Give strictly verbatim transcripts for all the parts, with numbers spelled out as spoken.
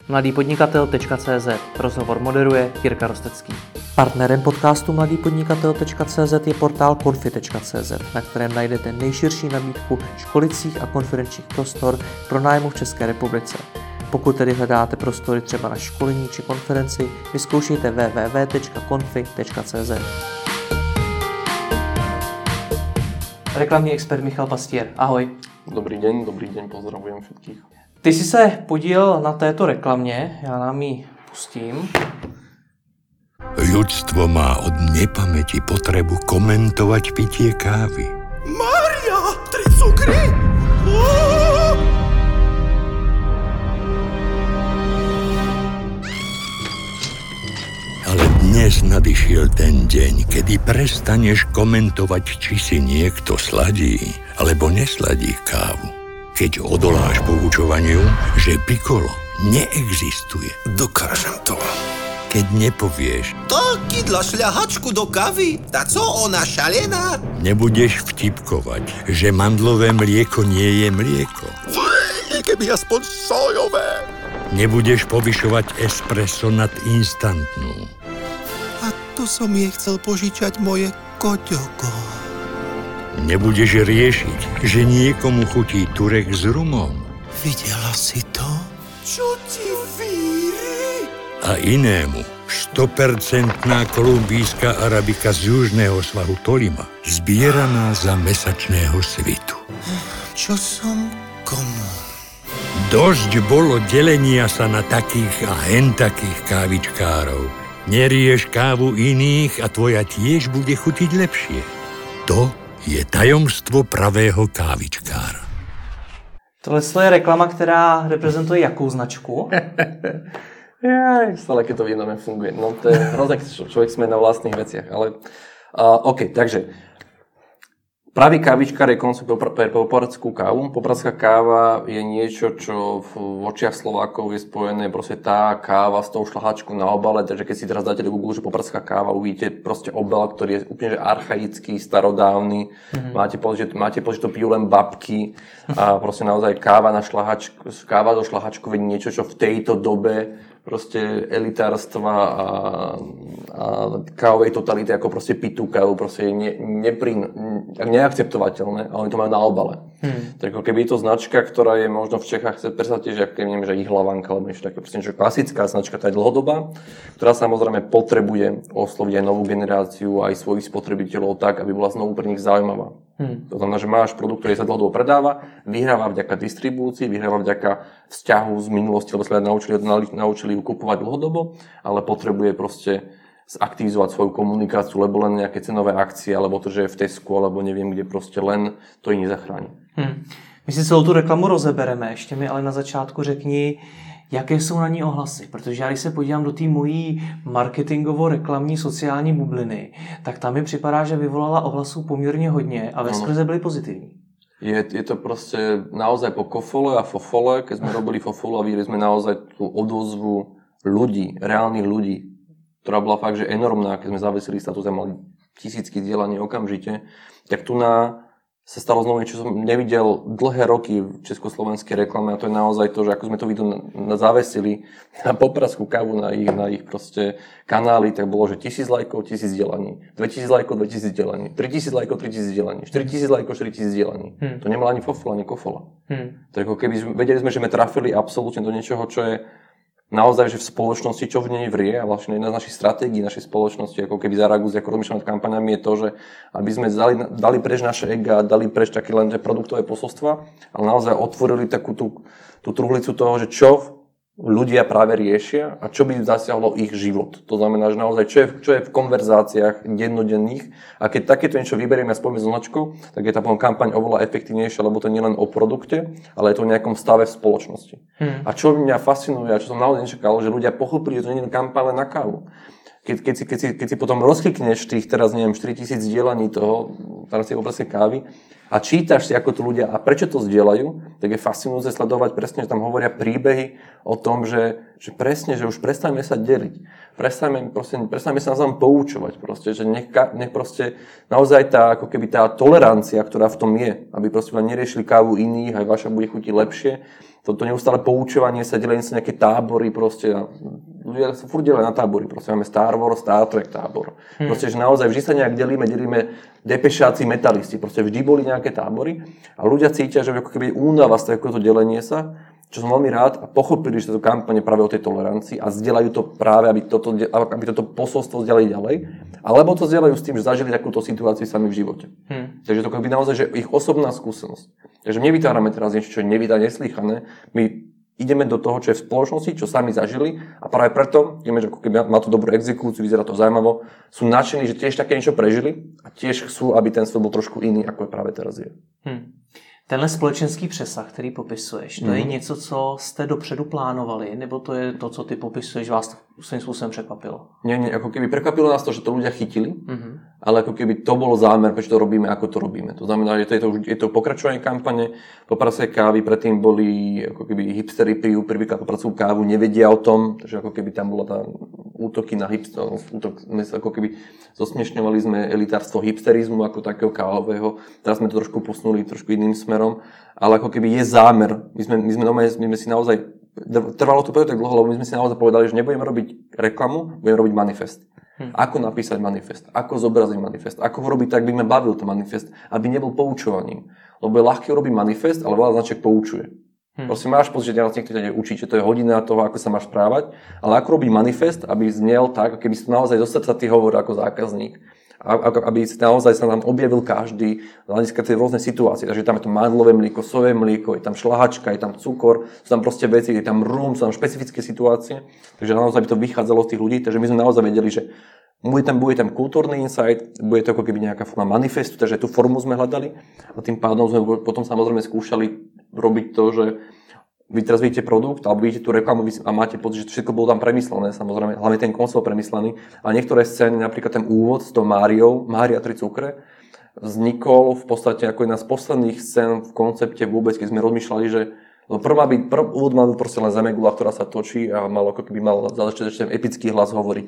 mladý podnikatel tečka cé zet. Rozhovor moderuje Jirka Rostecký. Partnerem podcastu mladý podnikatel tečka cé zet je portál konfi tečka cé zet, na kterém najdete nejširší nabídku školicích a konferenčních prostor pro nájmu v České republice. Pokud tedy hledáte prostory třeba na školení či konferenci, vyzkoušejte w w w tečka konfi tečka cé zet. Reklamní expert Michal Pastier. Ahoj. Dobrý deň, dobrý deň, pozdravujem všetkých. Ty jsi se podílel na této reklamě, já nám ji pustím. Ľudstvo má od nepamäti potrebu komentovať pitie kávy. Mária, tri cukry! Ale dnes nadišiel ten deň, kedy prestaneš komentovať, či si niekto sladí alebo nesladí kávu. Keď odoláš poučovaniu, že Piccolo neexistuje. Dokážem to. Keď nepovieš, To kydla šľahačku do kavy? Tá co ona šalená? nebudeš vtipkovať, že mandlové mlieko nie je mlieko. Keby aspoň sojové. Nebudeš povyšovať espresso nad instantnú. A tu som jej chcel požičať moje koťoko. Nebudeš riešiť, že niekomu chutí turek s rumom. Videla si to? Čo ti víri? A inému sto percent kolumbijská arabika z južného svahu Tolima, zbieraná za mesačného svitu. Čo som komu? Dosť bolo delenia sa na takých a hen takých kávičkárov. Nerieš kávu iných a tvoja tiež bude chutiť lepšie. To je tajomstvo pravého kávičkára. Tohle je reklama, která reprezentuje jakou značku? Ja, stále keď to vidíme, funguje. No to je hrozné, keď človek sme na vlastných veciach, ale uh, OK, takže pravý kávičkár je koncept pre popradskú kávu. Popradská káva je niečo, čo v očiach Slovákov je spojené proste tá káva s tou šľahačkou na obale, takže keď si teraz dáte do Google, že popradská káva, uvidíte proste obal, ktorý je úplne že archaický, starodávny. Mm-hmm. Máte pocit, že, máte pocit, že to pijú len babky a proste naozaj káva na šľahačku, káva do šľahačku je niečo, čo v tejto dobe proste elitárstva a, a kávovej totality ako proste pitú kávu proste je ne, neprín, ne, neakceptovateľné, ale oni to majú na obale. Hmm. Tak keby je to značka, ktorá je možno v Čechách, predstavte, že ak neviem, že Ihlavanka, alebo niečo také, proste niečo klasická značka, tá je dlhodobá, ktorá samozrejme potrebuje osloviť aj novú generáciu, aj svojich spotrebiteľov tak, aby bola znovu pre nich zaujímavá. Hmm. To znamená, že máš produkt, ktorý sa dlhodobo predáva, vyhráva vďaka distribúcii, vyhráva vďaka vzťahu z minulosti, lebo sa naučili, naučili ju kupovať dlhodobo, ale potrebuje proste zaktivizovať svoju komunikáciu, lebo len nejaké cenové akcie, alebo to, že je v Tesku, alebo neviem kde, proste len to ich nezachráni. Hmm. My si celou tu reklamu rozebereme, ještě mi ale na začátku řekni, jaké jsou na ní ohlasy, protože já když se podívám do té mojí marketingovo-reklamní sociální bubliny, tak tam mi připadá, že vyvolala ohlasů poměrně hodně a veskrze byly pozitivní. Je, je to proste naozaj po kofole a fofole, keď sme robili fofolu a videli sme naozaj tú odozvu ľudí, reálnych ľudí, ktorá bola fakt, že enormná, keď sme zavesili status a mali tisícky zdieľaní okamžite, tak tu na sa stalo znovu niečo, čo som nevidel dlhé roky v československej reklame a to je naozaj to, že ako sme to video na, na zavesili na popradskú kávu na ich, na ich proste kanály, tak bolo, že tisíc lajkov, tisíc zdieľaní, dvetisíc lajkov, dvetisíc zdieľaní, tritisíc lajkov, tritisíc zdieľaní, štyritisíc lajkov, štyritisíc zdieľaní. Hmm. To nemala ani fofola, ani kofola. Hmm. Tak ako keby vedeli sme, že sme trafili absolútne do niečoho, čo je naozaj, že v spoločnosti, čo v nej vrie a vlastne jedna z našich stratégií našej spoločnosti, ako keby zareagujú, ako rozmýšľame nad kampaňami, je to, že aby sme dali, dali preč naše ega, dali preč také len produktové posolstva, ale naozaj otvorili takú tú, tú truhlicu toho, že čo ľudia práve riešia a čo by zasiahlo ich život. To znamená, že naozaj čo je, čo je v konverzáciách dennodenných a keď takéto niečo vyberieme a spojíme s značkou, tak je tá kampaň oveľa efektívnejšia, lebo to nie len o produkte, ale je to o nejakom stave v spoločnosti. Hmm. A čo mňa fascinuje a čo som naozaj nečakal, že ľudia pochopili, že to nie je kampaň len na kávu. keď, keď, si, keď, si, keď si potom rozklikneš tých teraz, neviem, štyritisíc zdieľaní toho, teraz si obrazke kávy a čítaš si, ako to ľudia a prečo to zdieľajú, tak je fascinujúce sledovať presne, že tam hovoria príbehy o tom, že, že presne, že už prestaňme sa deliť. Prestaňme, proste, prestaňme sa navzájom poučovať, proste, že nech, nech proste naozaj tá, ako keby tá tolerancia, ktorá v tom je, aby proste len neriešili kávu iných, aj vaša bude chutiť lepšie. Toto neustále poučovanie sa, delenie sa nejaké tábory, proste, ľudia sa furt delia na tábory, proste máme Star Wars, Star Trek tábor. Hmm. Proste, že naozaj vždy sa nejak delíme, delíme depešáci, metalisti, proste vždy boli nejaké tábory a ľudia cítia, že ako keby únava z takéhoto delenie sa, čo som veľmi rád a pochopili, že táto kampane práve o tej tolerancii a zdieľajú to práve, aby toto, aby toto posolstvo zdieľali ďalej, alebo to zdieľajú s tým, že zažili takúto situáciu sami v živote. Hmm. Takže to je naozaj, že ich osobná skúsenosť. Takže my nevytvárame teraz niečo, čo je nevydané, neslýchané. My ideme do toho, čo je v spoločnosti, čo sami zažili a práve preto, vieme, že ako keby má to dobrú exekúciu, vyzerá to zaujímavo, sú nadšení, že tiež také niečo prežili a tiež chcú, aby ten svet bol trošku iný, ako je práve teraz je. Hmm. Tenhle společenský přesah, který popisuješ, to mm. je něco, co jste dopředu plánovali, nebo to je to, co ty popisuješ, vás svým způsobem překvapilo? Nie, nie, ako keby prekvapilo nás to, že to ľudia chytili, mm-hmm. ale ako keby to bol zámer, prečo to robíme, ako to robíme. To znamená, že to je to, je to pokračovanie kampane, po praze kávy, predtým boli ako keby hipstery pijú prvýkrát po pracu kávu, nevedia o tom, takže ako keby tam bola tá útoky na hipster, útok, ako keby zosmiešňovali sme elitárstvo hipsterizmu ako takého kávového, teraz sme to trošku posunuli trošku iným smerom, ale ako keby je zámer. My sme, my sme, my sme si naozaj, trvalo to tak dlho, lebo my sme si naozaj povedali, že nebudeme robiť reklamu, budeme robiť manifest. Hm. Ako napísať manifest, ako zobraziť manifest, ako ho robiť tak, aby ma bavil ten manifest, aby nebol poučovaním. Lebo je ľahké urobiť manifest, ale veľa značiek poučuje. Hm. Proste máš pocit, že teraz niekto ťa učí, že to je hodina toho, ako sa máš správať, ale ako robiť manifest, aby znel tak, keby si to naozaj zo srdca ty hovoril ako zákazník. Aby naozaj sa nám objavil každý z hľadiska tej rôznej situácie. Takže tam je to mandlové mlieko, sojové mlieko, je tam šlahačka, je tam cukor, sú tam proste veci, je tam rum, sú tam špecifické situácie. Takže naozaj by to vychádzalo z tých ľudí. Takže my sme naozaj vedeli, že bude tam, bude tam kultúrny insight, bude to ako keby nejaká forma manifestu, takže tú formu sme hľadali. A tým pádom sme potom samozrejme skúšali robiť to, že vy teraz vidíte produkt, alebo vidíte tú reklamu a máte pocit, že všetko bolo tam premyslené, samozrejme, hlavne ten koncept premyslený. A niektoré scény, napríklad ten úvod s tou Máriou, Mária tri cukre, vznikol v podstate ako jedna z posledných scén v koncepte vôbec, keď sme rozmýšľali, že prvá by, prv, úvod mal proste len Zemegula, ktorá sa točí a mal ako keby mal začať ešte epický hlas hovoriť.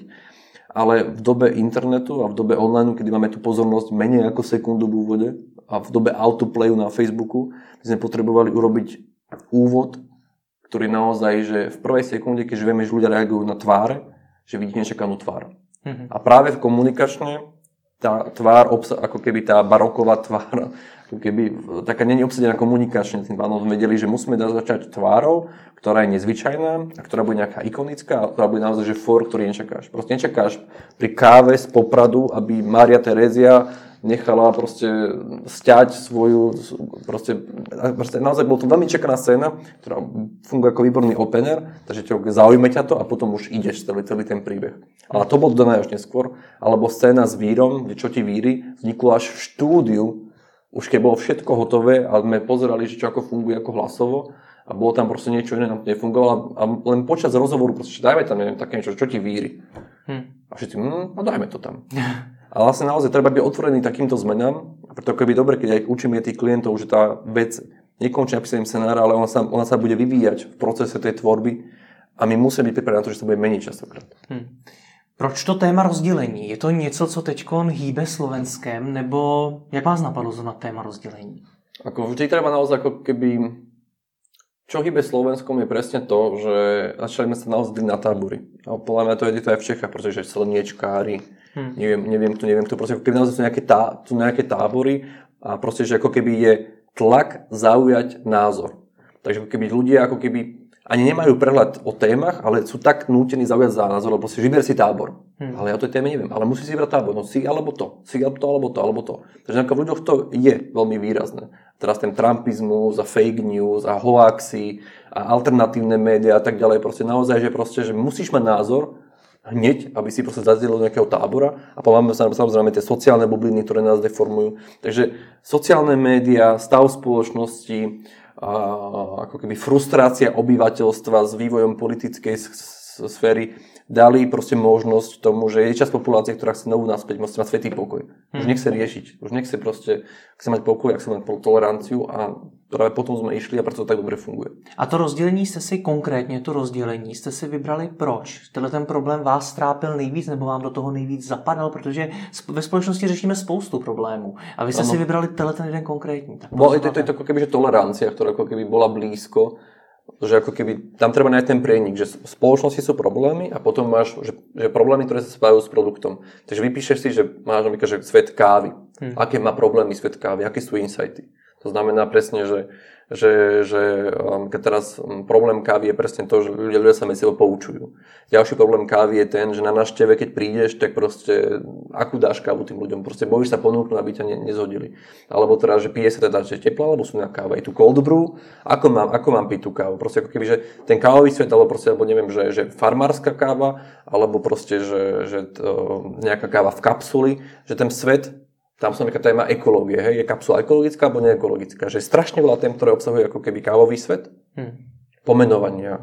Ale v dobe internetu a v dobe online, kedy máme tú pozornosť menej ako sekundu v úvode a v dobe autoplayu na Facebooku, sme potrebovali urobiť úvod, ktorý naozaj, že v prvej sekunde, keď vieme, že ľudia reagujú na tváre, že vidí nečakanú tvár. Mm-hmm. A práve v komunikačne tá tvár, ako keby tá baroková tvár, ako keby taká nie je obsadená komunikačne, tým pádom sme vedeli, že musíme začať tvárou, ktorá je nezvyčajná a ktorá bude nejaká ikonická a ktorá bude naozaj, že for, ktorý nečakáš. Proste nečakáš pri káve z Popradu, aby Mária Terézia nechala proste sťať svoju, proste, proste naozaj bol to veľmi čakaná scéna, ktorá funguje ako výborný opener, takže ťa zaujme ťa to a potom už ideš celý, celý ten príbeh. Ale to bolo dodané až neskôr, alebo scéna s vírom, kde čo ti víri, vzniklo až v štúdiu, už keď bolo všetko hotové a sme pozerali, že čo ako funguje ako hlasovo a bolo tam proste niečo iné, nám to nefungovalo a len počas rozhovoru proste, dajme tam neviem, také niečo, čo ti víri. Hm. A všetci, hm, no dajme to tam. A vlastne naozaj treba byť otvorený takýmto zmenám, a preto je dobre, keď aj učíme tých klientov, že tá vec nekončí napísaním scenára, ale ona sa, ona sa bude vyvíjať v procese tej tvorby a my musíme byť pripravení na to, že sa bude meniť častokrát. Hmm. Proč to téma rozdělení? Je to něco, co teďkon hýbe Slovenskem, nebo jak vás napadlo na téma rozdělení? Ako vždy treba naozaj ako keby... Čo hýbe Slovenskom je presne to, že začali sme sa naozaj na tábory. A podľa mňa to je to aj v Čechách, pretože slniečkári, hmm. neviem, neviem tu, neviem tu, proste keby naozaj sú nejaké, tá, sú nejaké tábory a proste, že ako keby je tlak zaujať názor. Takže ako keby ľudia ako keby ani nemajú prehľad o témach, ale sú tak nútení zaujať za názor, lebo proste vyber si tábor. Hmm. Ale ja o tej téme neviem, ale musí si vybrať tábor, no si alebo to, si alebo to, alebo to, alebo to. Takže v ľuďoch to je veľmi výrazné. Teraz ten trumpizmus a fake news a hoaxy a alternatívne médiá a tak ďalej, proste naozaj, že proste, že musíš mať názor hneď, aby si proste zazdielil do nejakého tábora a máme samozrejme tie sociálne bubliny, ktoré nás deformujú. Takže sociálne médiá, stav spoločnosti, a ako keby frustrácia obyvateľstva s vývojom politickej sféry dali proste možnosť tomu, že je časť populácie, ktorá chce novú naspäť, musí mať svätý pokoj. Už Hmm. nechce riešiť, už nechce proste, chce mať pokoj, chce mať toleranciu a práve potom jsme išli a proto to tak dobře funguje. A to rozdělení jste si konkrétně, to rozdělení jste si vybrali proč? Tenhle ten problém vás trápil nejvíc nebo vám do toho nejvíc zapadal? Protože ve společnosti řešíme spoustu problémů a vy jste ano. si vybrali tenhle ten jeden konkrétní. Tak Bo, to, to je to ako keby, že tolerancia, ktorá ako keby bola blízko, že ako keby tam treba nájsť ten prienik, že v spoločnosti sú problémy a potom máš, že, že problémy, ktoré sa spájajú s produktom. Takže vypíšeš si, že máš napríklad, že svet kávy. Hmm. Aké má problémy svet kávy, aké sú insighty. To znamená presne, že, že, že um, keď teraz um, problém kávy je presne to, že ľudia, ľudia sa medzi sebou poučujú. Ďalší problém kávy je ten, že na návšteve, keď prídeš, tak proste akú dáš kávu tým ľuďom. Proste bojíš sa ponúknuť, aby ťa ne, nezhodili. Alebo teda, že pije sa teda, že teplá, alebo sú na káva. Je tu cold brew, ako mám, ako mám piť tú kávu. Proste ako keby, že ten kávový svet, alebo proste, alebo neviem, že, že farmárska káva, alebo proste, že, že to, nejaká káva v kapsuli, že ten svet. Tam som taká téma ekológie, hej, je kapsula ekologická alebo neekologická, že je strašne veľa tém, ktoré obsahujú ako keby kávový svet, hmm. pomenovania,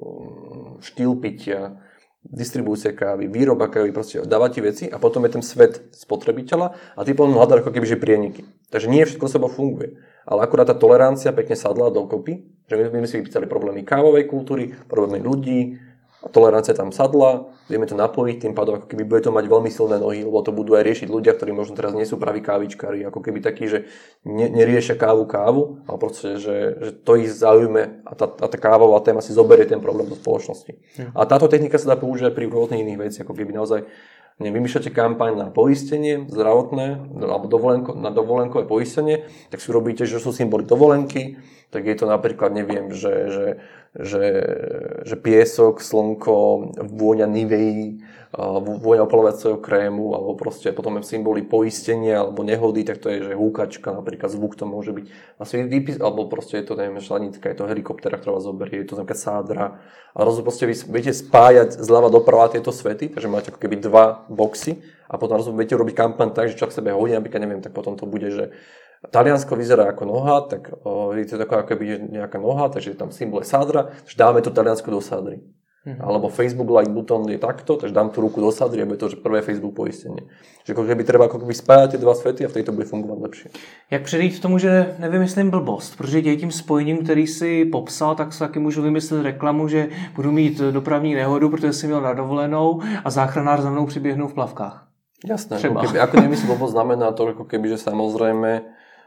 štýl pitia, distribúcia kávy, výroba kávy, proste dáva ti veci a potom je ten svet spotrebiteľa a ty potom hľadáš ako keby že prieniky. Takže nie všetko seba funguje, ale akurát tá tolerancia pekne sadla dokopy, že my sme si vypísali problémy kávovej kultúry, problémy ľudí, a tolerancia tam sadla, vieme to napojiť, tým pádom ako keby bude to mať veľmi silné nohy, lebo to budú aj riešiť ľudia, ktorí možno teraz nie sú praví kávičkári, ako keby takí, že ne, neriešia kávu kávu, ale proste, že, že to ich zaujme a tá, a tá kávová téma si zoberie ten problém do spoločnosti. Hmm. A táto technika sa dá použiť pri rôznych iných veciach, ako keby naozaj vymýšľate kampaň na poistenie zdravotné alebo dovolenko, na dovolenkové poistenie, tak si robíte, že sú symboly dovolenky, tak je to napríklad, neviem, že, že, že, že piesok, slnko, vôňa Nivei, vôňa opalovacieho krému, alebo proste potom je symboly poistenia alebo nehody, tak to je, že húkačka, napríklad zvuk to môže byť. Asi výpis, alebo proste je to, neviem, šlanitka, je to helikoptera, ktorá vás zoberie, je to napríklad sádra. A rozumiem, proste vy viete spájať zľava doprava tieto svety, takže máte ako keby dva boxy a potom rozumiem, viete urobiť kampaň tak, že čo k sebe hodí, napríklad neviem, tak potom to bude, že Taliansko vyzerá ako noha, tak o, je to taková ako keby nejaká noha, takže je tam symbol sádra, takže dáme to Taliansko do sádry. Mm-hmm. Alebo Facebook like button je takto, takže dám tú ruku do sádry a bude to, že prvé Facebook poistenie. Že ako keby treba ako keby spájať tie dva svety a v tejto bude fungovat lepšie. Jak předejít tomu, že nevymyslím blbost, protože děj tím spojením, který si popsal, tak se taky můžu vymyslet reklamu, že budu mít dopravní nehodu, protože jsem měl na dovolenou a záchranár za mnou přiběhnou v plavkách. Jasné, ako, keby, ako nemyslím blbosť, znamená to, ako keby, že samozrejme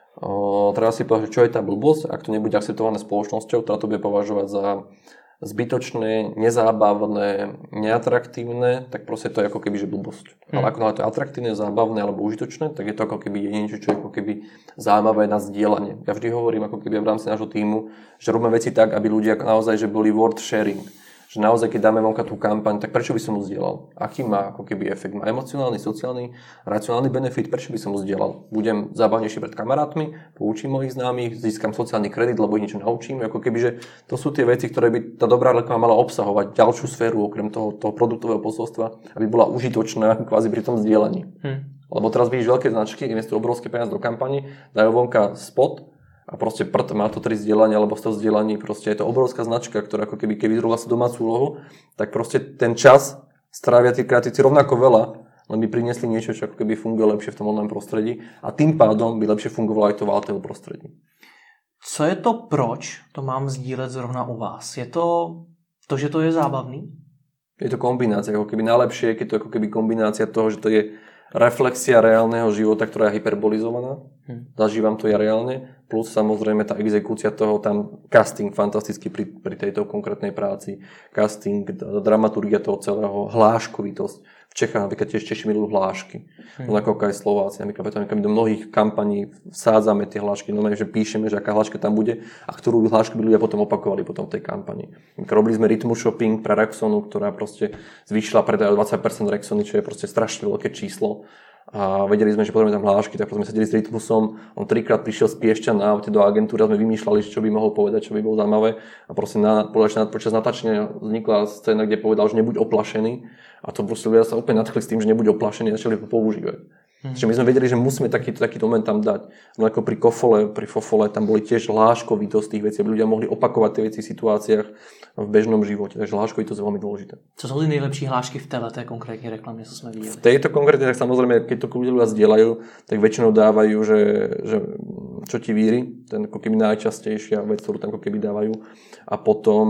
o, treba si povedať, čo je tá blbosť, ak to nebude akceptované spoločnosťou, ktorá to bude považovať za zbytočné, nezábavné, neatraktívne, tak proste to je ako keby, že blbosť. Hmm. Ale ako to je atraktívne, zábavné alebo užitočné, tak je to ako keby niečo, čo je ako keby zaujímavé na zdieľanie. Ja vždy hovorím ako keby v rámci nášho tímu, že robíme veci tak, aby ľudia naozaj že boli worth sharing. Že naozaj, keď dáme vonka tú kampaň, tak prečo by som mu zdieľal? Aký má ako keby efekt? Má emocionálny, sociálny, racionálny benefit? Prečo by som mu zdieľal? Budem zábavnejší pred kamarátmi, poučím mojich známych, získam sociálny kredit, lebo ich niečo naučím. Ako keby, že to sú tie veci, ktoré by tá dobrá reklama mala obsahovať ďalšiu sféru okrem toho, toho produktového posolstva, aby bola užitočná kvázi pri tom zdieľaní. Hmm. Lebo teraz vidíš veľké značky, investujú obrovské peniaze do kampane, dajú vonka spot, a proste prd, má to tri zdieľania, alebo sto zdieľaní, proste je to obrovská značka, ktorá ako keby, keby zrobila si domácu úlohu, tak proste ten čas strávia tí kreatívci rovnako veľa, len by priniesli niečo, čo ako keby funguje lepšie v tom online prostredí a tým pádom by lepšie fungovalo aj to v Altel prostredí. Co je to, proč to mám sdílet zrovna u vás? Je to to, že to je zábavný? Je to kombinácia, ako keby najlepšie, keď to ako keby kombinácia toho, že to je reflexia reálneho života, ktorá je hyperbolizovaná. Hm. Zažívam to ja reálne. Plus samozrejme tá exekúcia toho, tam casting fantasticky pri, pri tejto konkrétnej práci. Casting, dramaturgia toho celého, hláškovitosť. V Čechách napríklad tiež Češi milujú hlášky. Hm. Ako aj Slováci. Napríklad my do mnohých kampaní vsádzame tie hlášky. No že píšeme, že aká hláška tam bude a ktorú hlášku by ľudia potom opakovali potom v tej kampani. Robili sme rytmus shopping pre Rexonu, ktorá proste zvýšila predaj o dvadsať percent Rexony, čo je proste strašne veľké číslo. A vedeli sme, že potrebujeme tam hlášky, tak potom sme sedeli s rytmusom. On trikrát prišiel z Piešťan na aute do agentúry a sme vymýšľali, čo by mohol povedať, čo by bolo zaujímavé. A proste na, počas natáčania vznikla scéna, kde povedal, že nebuď oplašený. A to proste ľudia sa úplne nadchli s tým, že nebuď oplašený a začali ho používať. Hmm. Čiže my sme vedeli, že musíme takýto, takýto moment tam dať. No ako pri Kofole, pri Fofole, tam boli tiež hláškovitosť tých vecí, aby ľudia mohli opakovať tie veci v situáciách v bežnom živote. Takže hláškovitosť je veľmi dôležité. Co sú ty nejlepší hlášky v té konkrétnej reklame, co sme videli? V tejto konkrétnej, tak samozrejme, keď to ľudia zdieľajú, tak väčšinou dávajú, že, že čo ti víri, ten ako keby najčastejšia vec, ktorú tam ako keby dávajú. A potom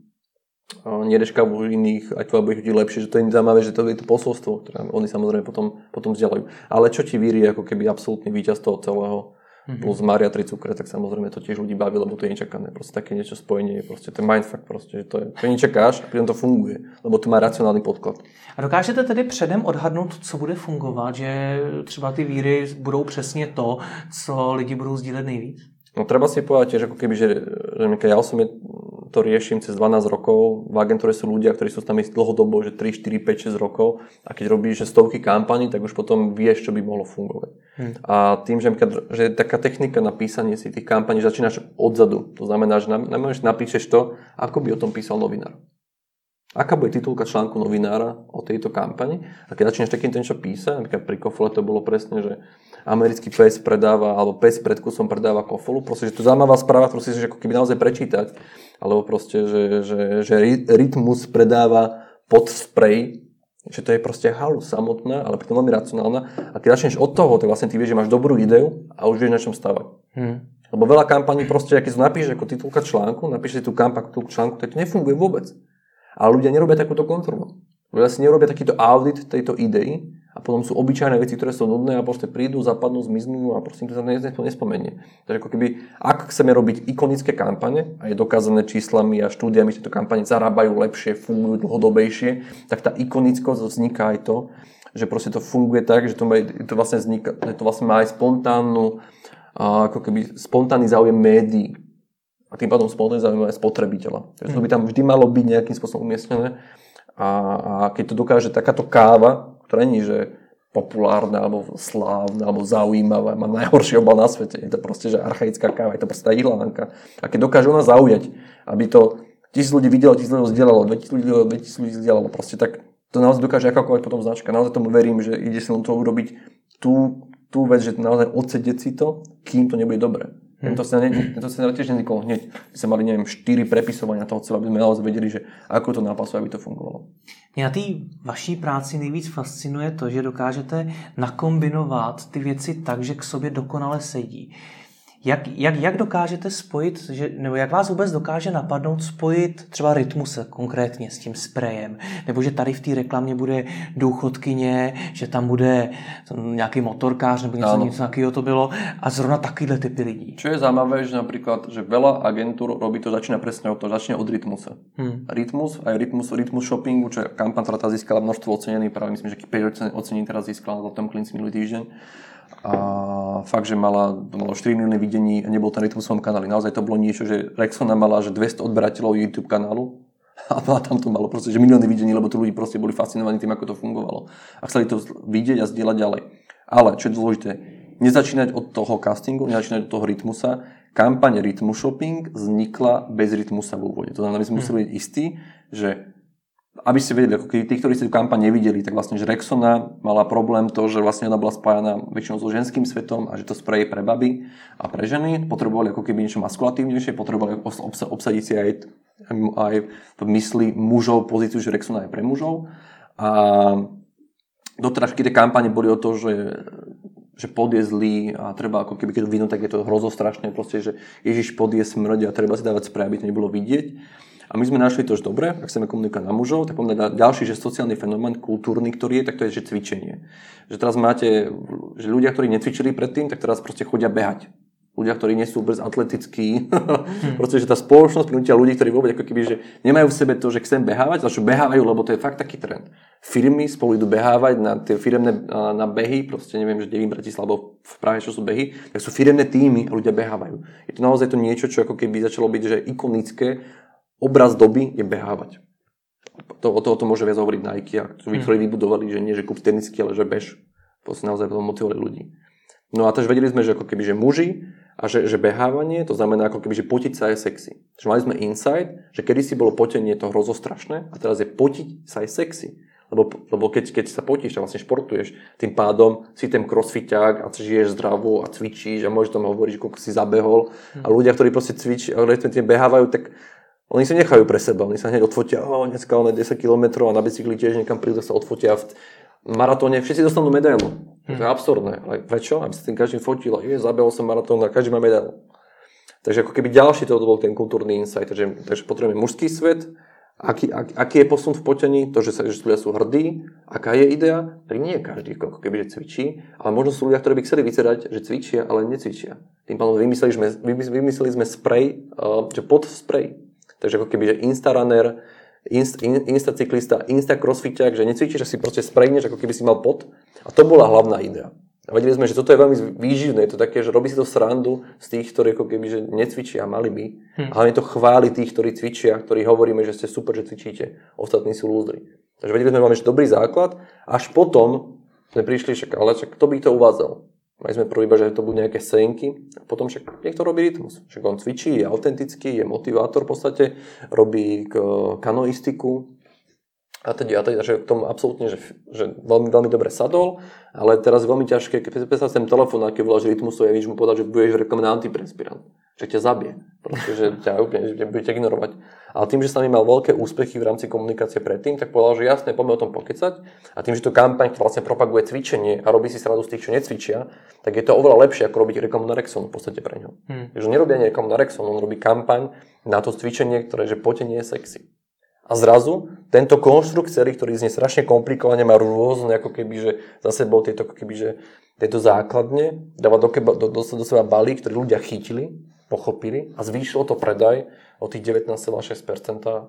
nedeš kávu iných, aj tvoja bude chutiť lepšie, že to je zaujímavé, že to je to posolstvo, ktoré oni samozrejme potom, potom vzdielajú. Ale čo ti víri, ako keby absolútny víťaz toho celého, mm-hmm. plus Mária tri cukre, tak samozrejme to tiež ľudí baví, lebo to je nečakané. Proste také niečo spojenie, proste ten mindfuck, proste, že to je, to nečakáš a pritom to funguje, lebo to má racionálny podklad. A dokážete tedy předem odhadnout, co bude fungovat, že třeba ty víry budou přesně to, co lidi budou sdílet nejvíc? No treba si povedať tiež, ako keby, že, že ja osobne to riešim cez dvanásť rokov. V agentúre sú ľudia, ktorí sú tam dlhodobo, že tri, štyri, päť, šesť rokov. A keď robíš že stovky kampaní, tak už potom vieš, čo by mohlo fungovať. Hmm. A tým, že, že taká technika na písanie si tých kampaní začínaš odzadu. To znamená, že napíšeš to, ako by o tom písal novinár. Aká bude titulka článku novinára o tejto kampani? A keď začneš takýmto niečo písať, napríklad pri Kofole to bolo presne, že americký pes predáva, alebo pes pred kusom predáva Kofolu, proste, že to zaujímavá správa, proste, že ako keby naozaj prečítať, alebo proste, že, že, že Rytmus predáva pod sprej, že to je proste halus samotná, ale pritom veľmi racionálna. A keď začneš od toho, tak vlastne ty vieš, že máš dobrú ideu a už vieš na čom stavať. Hmm. Lebo veľa kampaní proste, keď to napíšeš ako titulka článku, napíšeš si tú kampaň tú článku, tak to nefunguje vôbec. Ale ľudia nerobia takúto kontrolu. Ľudia si nerobia takýto audit tejto idei a potom sú obyčajné veci, ktoré sú nudné a proste prídu, zapadnú, zmiznú a proste to sa nespomenie. Takže ako keby, ak chceme robiť ikonické kampane a je dokázané číslami a štúdiami, že tieto kampane zarábajú lepšie, fungujú dlhodobejšie, tak tá ikonickosť vzniká aj to, že proste to funguje tak, že to, má, to, vlastne, vzniká, že to vlastne má aj spontánnu, ako keby spontánny záujem médií. A tým pádom spontánne zaujímavé aj spotrebiteľa. Takže to by tam vždy malo byť nejakým spôsobom umiestnené. A, a keď to dokáže takáto káva, ktorá nie je že populárna, alebo slávna, alebo zaujímavá, má najhorší obal na svete. Je to proste, že archaická káva, je to proste tá ihlanka. A keď dokáže ona zaujať, aby to tisíc ľudí videlo, tisíc ľudí zdieľalo, dvetisíc ľudí videlo, dvetisíc ľudí zdieľalo, proste tak to naozaj dokáže akákoľvek potom značka. Naozaj tomu verím, že ide si len to urobiť tú, tú vec, že naozaj odsedieť si to, kým to nebude dobré. Hmm. To sa, ne, to sa tiež nevzniklo hneď. My sme mali, neviem, štyri prepisovania toho celého, aby sme naozaj vedeli, že ako to nápasuje, aby to fungovalo. Mě na té vaší práci nejvíc fascinuje to, že dokážete nakombinovat ty věci tak, že k sobě dokonale sedí. Jak, jak, jak dokážete spojit, že, nebo jak vás vůbec dokáže napadnout spojit třeba Rytmuse konkrétně s tím sprejem, nebo že tady v té reklamě bude důchodkyně, že tam bude nějaký motorkář nebo něco, něco takového to bylo a zrovna takovýhle typy lidí. Čo je zaujímavé, že napríklad, že veľa agentúr robí to, začína presne od toho, začne od Rytmuse. Hmm. Rytmus, aj Rytmus, Rytmus Shoppingu, čo je kampaň, ktorá tá získala množstvo ocenení, práve myslím, že päť ocenení teraz získala na Zlatom klinci minulý týždeň. A fakt, že mala, malo štyri milióny videní a nebol ten Rytmus v svojom kanáli. Naozaj to bolo niečo, že Rexona mala že dvesto odberateľov YouTube kanálu a tam to malo proste, že milióny videní, lebo tí ľudí proste boli fascinovaní tým, ako to fungovalo. A chceli to vidieť a zdieľať ďalej. Ale, čo je dôležité, nezačínať od toho castingu, nezačínať od toho Rytmusa. Kampaň Rytmus Shopping vznikla bez Rytmusa v úvode. To znamená, my sme museli byť istí, že aby ste vedeli, ako tí, ktorí ste tú kampaň nevideli, tak vlastne, že Rexona mala problém to, že vlastne ona bola spájana väčšinou so ženským svetom a že to sprej je pre baby a pre ženy. Potrebovali ako keby niečo maskulatívnejšie, potrebovali obsa- obsadiť si aj, aj v mysli mužov pozíciu, že Rexona je pre mužov. A doteraz, keď tie kampane boli o to, že že pod je zlý a treba ako keby keď to vidno, tak je to hrozostrašné, proste, že Ježiš pod je smrť a treba si dávať sprej, aby to nebolo vidieť. A my sme našli to, že dobre, ak chceme komunikovať na mužov, tak máme ďalší, že sociálny fenomén, kultúrny, ktorý je, tak to je, že cvičenie. Že teraz máte, že ľudia, ktorí necvičili predtým, tak teraz proste chodia behať. Ľudia, ktorí nie sú vôbec atletickí. Hmm. Proste, že tá spoločnosť prinútia ľudí, ktorí vôbec ako keby, že nemajú v sebe to, že chcem behávať, začnú behávajú, lebo to je fakt taký trend. Firmy spolu idú behávať na tie firemné na behy, proste neviem, že kde v Bratislave alebo v Prahe, čo sú behy, tak sú firemné týmy a ľudia behávajú. Je to naozaj to niečo, čo ako keby začalo byť, že ikonické. Obraz doby je behávať. To, o to, o to môže viac hovoriť Nike, ktorí vybudovali, že nie, že kúp tenisky, ale že bež. Proste naozaj potom motivovali ľudí. No a takže vedeli sme, že ako keby, že muži a že, že behávanie, to znamená ako keby, že potiť sa je sexy. Takže mali sme insight, že kedysi bolo potenie to hrozostrašné a teraz je potiť sa je sexy. Lebo, lebo keď, keď sa potíš, tak vlastne športuješ, tým pádom si ten crossfiťák a žiješ zdravo a cvičíš a môžeš tam hovoriť, koľko si zabehol. Hmm. A ľudia, ktorí proste cvičí, ale ktorí behávajú, tak oni sa nechajú pre seba. Oni sa hneď odfotia, oh, dneska on desať kilometrov a na bicykli tiež niekam prídu, sa odfotia v maratóne. Všetci dostanú medailu. Hmm. To je absurdné. Ale prečo? Aby sa tým každým fotil. Je, zabehol som maratón a každý má medailu. Takže ako keby ďalší to bol ten kultúrny insight. Takže, takže potrebujeme mužský svet. Aký, ak, aký je posun v potení, to, že, sa, že ľudia sú hrdí, aká je idea, tak nie je každý, ako keby, že cvičí, ale možno sú ľudia, ktorí by chceli vyzerať, že cvičia, ale necvičia. Tým pádom vymysleli sme, vymysleli sme spray, uh, že pod spray. Takže ako keby, že Instarunner, inst, in, Instacyklista, Instacrossfiťák, že necvičíš, že si proste sprayneš, ako keby si mal pod. A to bola hlavná idea. A vedeli sme, že toto je veľmi výživné, je to také, že robí si to srandu z tých, ktorí ako keby, že necvičia, mali by. Hm. A hlavne to chváli tých, ktorí cvičia, ktorí hovoríme, že ste super, že cvičíte. Ostatní sú lúzdri. Takže vedeli sme, že máme dobrý základ. Až potom sme prišli, však, ale však kto by to uvádzal? Mali sme prvý iba, že to budú nejaké scénky. A potom však niekto robí rytmus. Však on cvičí, je autentický, je motivátor v podstate, robí kanoistiku. A teda, a teda, že k tomu absolútne, že, že veľmi, veľmi dobre sadol, ale teraz je veľmi ťažké, keď predstav ten telefón, aký voláš rytmusov, ja víš mu povedať, že budeš v reklame na antiperspirant, že ťa zabije, proste, že ťa úplne, že bude ťa ignorovať. Ale tým, že sa mi mal veľké úspechy v rámci komunikácie predtým, tak povedal, že jasné, poďme o tom pokecať. A tým, že to kampaň, ktorá vlastne propaguje cvičenie a robí si srandu z tých, čo necvičia, tak je to oveľa lepšie, ako robiť reklamu na Rexon v podstate pre ňo. Hmm. Takže nerobí ani reklamu na Rexon, on robí kampaň na to cvičenie, ktoré že potenie je sexy. A zrazu tento konštrukt celý, ktorý znie strašne komplikovane, má rôzne ako keby, že za sebou tieto, ako keby, že tieto základne, dáva do, keba, do, do, do seba balík, ktorý ľudia chytili, pochopili a zvýšilo to predaj o tých devätnásť celá šesť percent. A,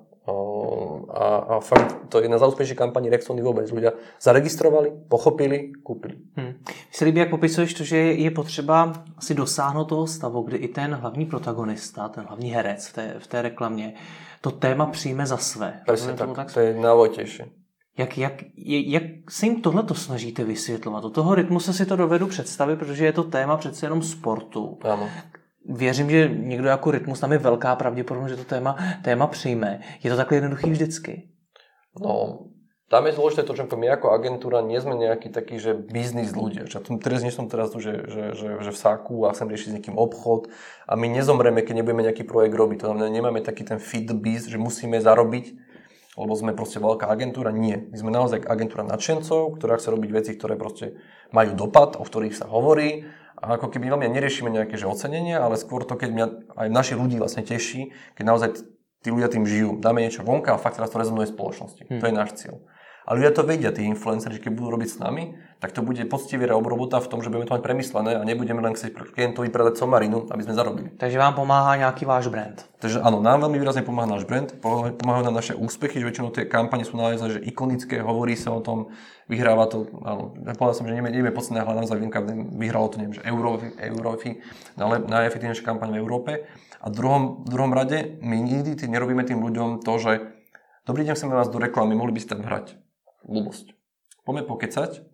a fakt, to je jedna z úspešných kampaní Rexony vôbec. Ľudia zaregistrovali, pochopili, kúpili. Hmm. Mně se líbí, jak popisuješ to, že je potřeba si dosáhnout toho stavu, kdy i ten hlavní protagonista, ten hlavní herec v té, v té reklamě, to téma přijme za své. Presne tak, tak, to je najvojtejšie. Jak, jak, jak se jim tohleto snažíte vysvětlovat? Od toho rytmu se si to dovedu představit, protože je to téma přece jenom sportu. Áno. Věřím, že někdo jako Rytmus, tam je velká pravděpodobnost, že to téma, téma přijme. Je to takhle jednoduchý vždycky? No, tam je dôležité to, že my ako agentúra nie sme nejaký taký, že biznis ľudia. Že teraz nie som teraz tu, že, že, že, že v sáku a chcem riešiť s niekým obchod a my nezomreme, keď nebudeme nejaký projekt robiť. To znamená, nemáme taký ten feed biz, že musíme zarobiť, lebo sme proste veľká agentúra. Nie. My sme naozaj agentúra nadšencov, ktorá chce robiť veci, ktoré proste majú dopad, o ktorých sa hovorí. A ako keby veľmi neriešime nejaké že ocenenia, ale skôr to, keď mňa aj našich ľudí vlastne teší, keď naozaj tí ľudia tým žijú. Dáme niečo vonka a fakt teraz to rezonuje v spoločnosti. Hmm. To je náš cieľ. A ľudia to vedia, tí influenceri, že keď budú robiť s nami, tak to bude poctivá obrobota v tom, že budeme to mať premyslené a nebudeme len chcieť klientovi predať somarinu, aby sme zarobili. Takže vám pomáha nejaký váš brand. Takže áno, nám veľmi výrazne pomáha náš brand, pomáhajú nám naše úspechy, že väčšinou tie kampane sú naozaj že ikonické, hovorí sa o tom, vyhráva to, áno, povedal som, že nevieme podcené, ale naozaj viem, vyhralo to, neviem, že Eurofi, Eurofi najefektívnejšia kampaň v Európe. A v druhom, v druhom rade my nikdy tým nerobíme tým ľuďom to, že dobrý deň, chceme vás do reklamy, mohli by ste tam hrať. Blbosť. Poďme pokecať,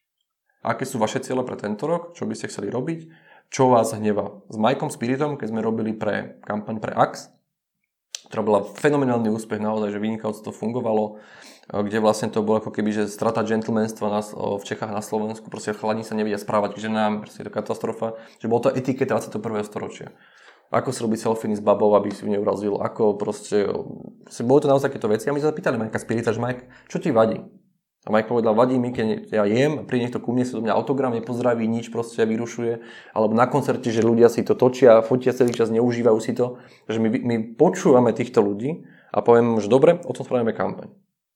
aké sú vaše ciele pre tento rok, čo by ste chceli robiť, čo vás hnevá. S Mikeom Spiritom, keď sme robili pre kampaň pre Axe, ktorá bola fenomenálny úspech, naozaj, že vynikajúco to fungovalo, kde vlastne to bolo ako keby, že strata gentlemanstva na, v Čechách na Slovensku, proste chlani sa nevedia správať k ženám, proste je to katastrofa, že bolo to etiketa dvadsiateho prvého storočia. Ako si robiť selfie s babou, aby si ju neurazil, ako proste, proste bolo to naozaj takéto veci. A my sa zapýtali Mikea Spirita, že Mike, čo ti vadí? A Mike povedal, vadí mi, keď ja jem a príde niekto ku mne, si do mňa autogram, nepozdraví, nič proste vyrušuje. Alebo na koncerte, že ľudia si to točia, fotia celý čas, neužívajú si to. Takže my, my počúvame týchto ľudí a povieme, že dobre, o tom spravíme kampaň.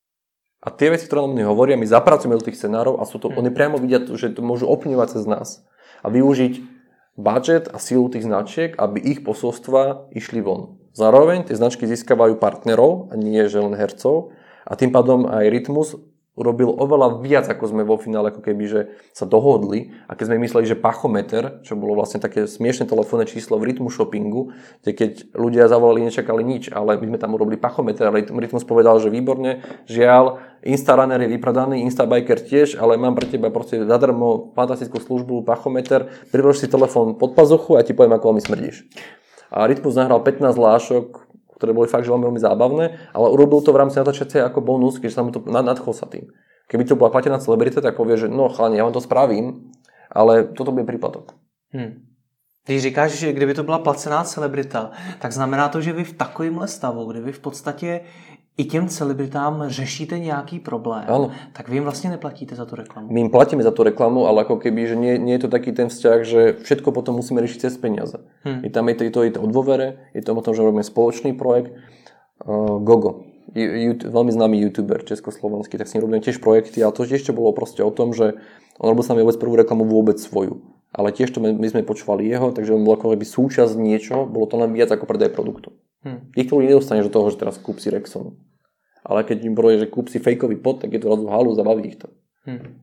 A tie veci, ktoré nám hovoria, my zapracujeme do tých scenárov a sú to, hmm. oni priamo vidia, že to môžu ovplyvňovať cez nás. A využiť budget a silu tých značiek, aby ich posolstva išli von. Zároveň tie značky získavajú partnerov a nie že len hercov. A tým pádom aj Rytmus urobil oveľa viac, ako sme vo finále ako keby, že sa dohodli. A keď sme mysleli, že Pachometer, čo bolo vlastne také smiešné telefónne číslo v Rytmus shoppingu, kde keď ľudia zavolali, nečakali nič, ale my sme tam urobili Pachometer a Rytmus povedal, že výborne, žiaľ, Instarunner je vypredaný, Instabiker tiež, ale mám pre teba proste zadarmo fantastickú službu Pachometer, prilož si telefón pod pazuchu a ti poviem, ako veľmi smrdíš. A Rytmus nahral pätnásť hlášok, ktoré boli fakt že veľmi, veľmi zábavné, ale urobil to v rámci natáčacie ako bonus, keďže sa mu to nadchol sa tým. Keby to bola platená celebrita, tak povie, že no chalani, ja vám to spravím, ale toto bude príplatok. Hmm. Když říkáš, že kdyby to byla placená celebrita, tak znamená to, že vy v takovémhle stavu, kdy vy v podstatě i těm celebritám řešíte nějaký problém, ano. Tak vy jim vlastně neplatíte za tu reklamu. My im platíme za tú reklamu, ale ako keby, že nie, nie je to taký ten vzťah, že všetko potom musíme riešiť cez peniaze. Hmm. Je tam je to, je to, je to o dôvere, je to o tom, že robíme spoločný projekt. Uh, Gogo, YouTube, veľmi známy youtuber československý, tak s ním robíme tiež projekty, ale to ešte bolo proste o tom, že on robil s nami vôbec prvú reklamu vôbec svoju. Ale tiež to my, my sme počúvali jeho, takže on bol ako keby súčasť niečo, bolo to len viac ako predaj produktu. Hmm. Týchto ľudí nedostaneš do toho, že teraz kúp si Rexonu. Ale keď im povie, že kúp si fejkový pot, tak je to razu halu, zabaví ich to. Hmm.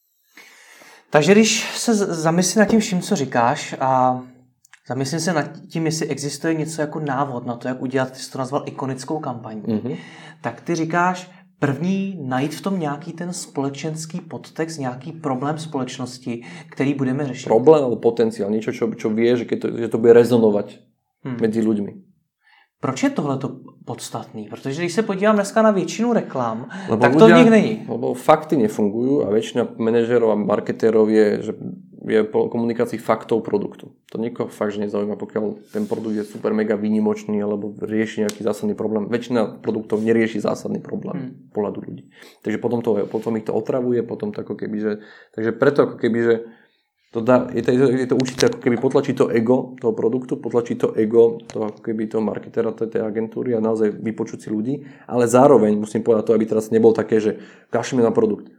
Takže když se zamyslím nad tím vším, co říkáš a zamyslím se nad tím, jestli existuje něco jako návod na to, jak udělat, ty jsi to nazval ikonickou kampaň, mm-hmm. tak ty říkáš, první najít v tom nějaký ten společenský podtext, nějaký problém společnosti, který budeme řešit. Problém alebo potenciál, niečo, čo, čo vie, že, keď to, že to bude rezonovať hmm. medzi ľuďmi. Proč je tohleto podstatný? Protože když se podívám dneska na většinu reklam, lebo tak ľudia, to v nich není. Lebo fakty nefungujú a väčšina manažérov a marketérov je, že je po komunikácii faktov produktu. To nikoho fakt, že nezaujíma, pokiaľ ten produkt je super mega výnimočný alebo rieši nejaký zásadný problém. Väčšina produktov nerieši zásadný problém hmm. pohľadu ľudí. Takže potom, to, potom ich to otravuje, potom to ako keby, že... Takže preto ako keby, že to dá, je, to, je to určite ako keby potlačí to ego toho produktu, potlačí to ego toho ako keby toho marketera tej agentúry a naozaj vypočuť si ľudí, ale zároveň musím povedať to, aby teraz nebol také, že kašleme na produkt.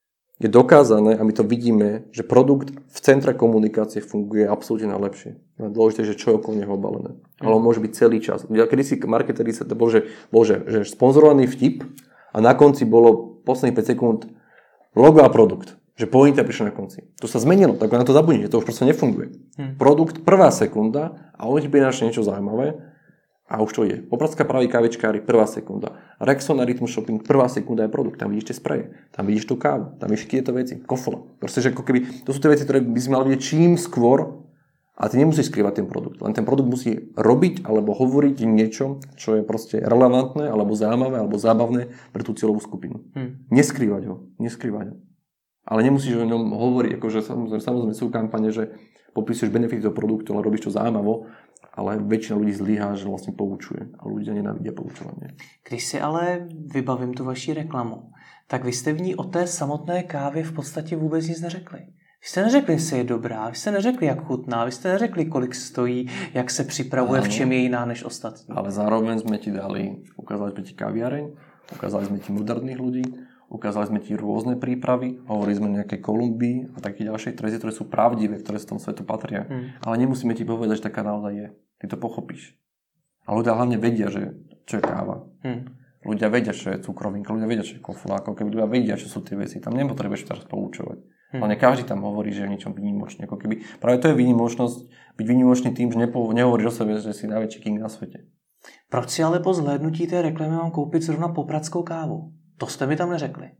Je dokázané a my to vidíme, že produkt v centre komunikácie funguje absolútne najlepšie. Dôležité, že čo je okolo neho obalené. Ale on môže byť celý čas. Kedy si marketeri sa to bol, že, bol, že, že sponzorovaný vtip a na konci bolo posledných päť sekúnd logo a produkt. Že pointa prišla na konci. To sa zmenilo, tak na to zabudnite, to už proste nefunguje. Hmm. Produkt, prvá sekunda a on ti prináša niečo zaujímavé a už to je. Popradská praví kávičkári, prvá sekunda. Rexona Rytmus Shopping, prvá sekunda je produkt. Tam vidíš tie spreje, tam vidíš tú kávu, tam vidíš tieto veci, kofole. Proste, že ako keby, to sú tie veci, ktoré by si mal vidieť čím skôr a ty nemusíš skrývať ten produkt. Len ten produkt musí robiť alebo hovoriť niečo, čo je proste relevantné alebo zaujímavé alebo zábavné pre tú cieľovú skupinu. Hmm. Neskrývať ho, neskrývať ho. Ale nemusíš o ňom hovoriť, akože samozrejme, samozrejme sú kampane, že popisuješ benefity toho produktu, ale robíš to zaujímavo, ale väčšina ľudí zlyhá, že vlastne poučuje a ľudia nenávidia poučovanie. Když si ale vybavím tu vaši reklamu, tak vy jste v ní o té samotné kávě v podstatě vůbec nic neřekli. Vy jste neřekli, jestli je dobrá, vy jste neřekli, jak chutná, vy jste neřekli, kolik stojí, jak se připravuje, v čem je jiná než ostatní. Ale zároveň sme ti dali, ukázali sme ti kaviareň, ukázali sme ti moderných ľudí, ukázali sme ti rôzne prípravy, hovorili sme o nejakej Kolumbii a také ďalšie trezie, ktoré sú pravdivé, ktoré z tom svetu patria. Hmm. Ale nemusíme ti povedať, že taká naozaj je. Ty to pochopíš. A ľudia hlavne vedia, že čo je káva. Hmm. Ľudia vedia, čo je cukrovinka, ľudia vedia, čo je kofol, ako keby ľudia vedia, čo sú tie veci. Tam nepotrebuješ teraz poučovať. Hmm. Ale každý tam hovorí, že je niečom výnimočný. Ako keby, práve to je výnimočnosť, byť výnimočný tým, že nepo, nehovoríš o sebe, že si najväčší king na svete. Proč si ale po zhlédnutí té reklamy mám koupit zrovna popradskou kávu? To ste mi tam neřekli.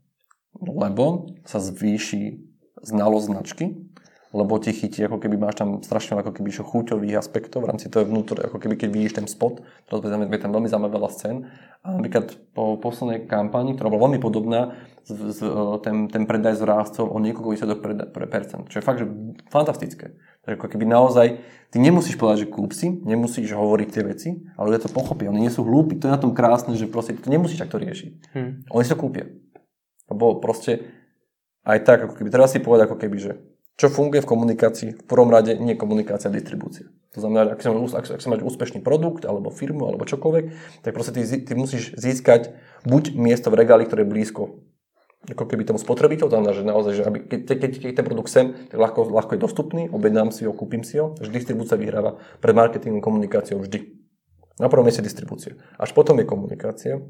Lebo sa zvýši znalosť značky, lebo ti chytí, ako keby máš tam strašne ako keby chuťových aspektov v rámci toho vnútor, ako keby keď vidíš ten spot, teraz je tam veľmi zaujímavé veľa scén. A napríklad po poslednej kampani, ktorá bola veľmi podobná, z, z, ten, ten predaj zrástol o niekoľko výsledok percent, čo je fakt, že fantastické. Takže ako keby naozaj, ty nemusíš povedať, že kúp si, nemusíš hovoriť tie veci, ale ľudia to pochopia, oni nie sú hlúpi, to je na tom krásne, že proste to nemusíš takto riešiť. Hmm. Oni si to kúpia. Lebo proste aj tak, ako keby, treba si povedať ako keby, že čo funguje v komunikácii, v prvom rade nie komunikácia a distribúcia. To znamená, že ak si, máš, ak, ak si máš úspešný produkt, alebo firmu, alebo čokoľvek, tak proste ty, ty musíš získať buď miesto v regáli, ktoré je blízko ako keby tomu spotrebiteľu, to znamená, že naozaj, že aby, keď, keď, keď ten produkt sem, tak ľahko, ľahko je dostupný, objednám si ho, kúpim si ho, že distribúcia vyhráva pred marketingom, komunikáciou vždy. Na prvom mieste distribúcia. Až potom je komunikácia.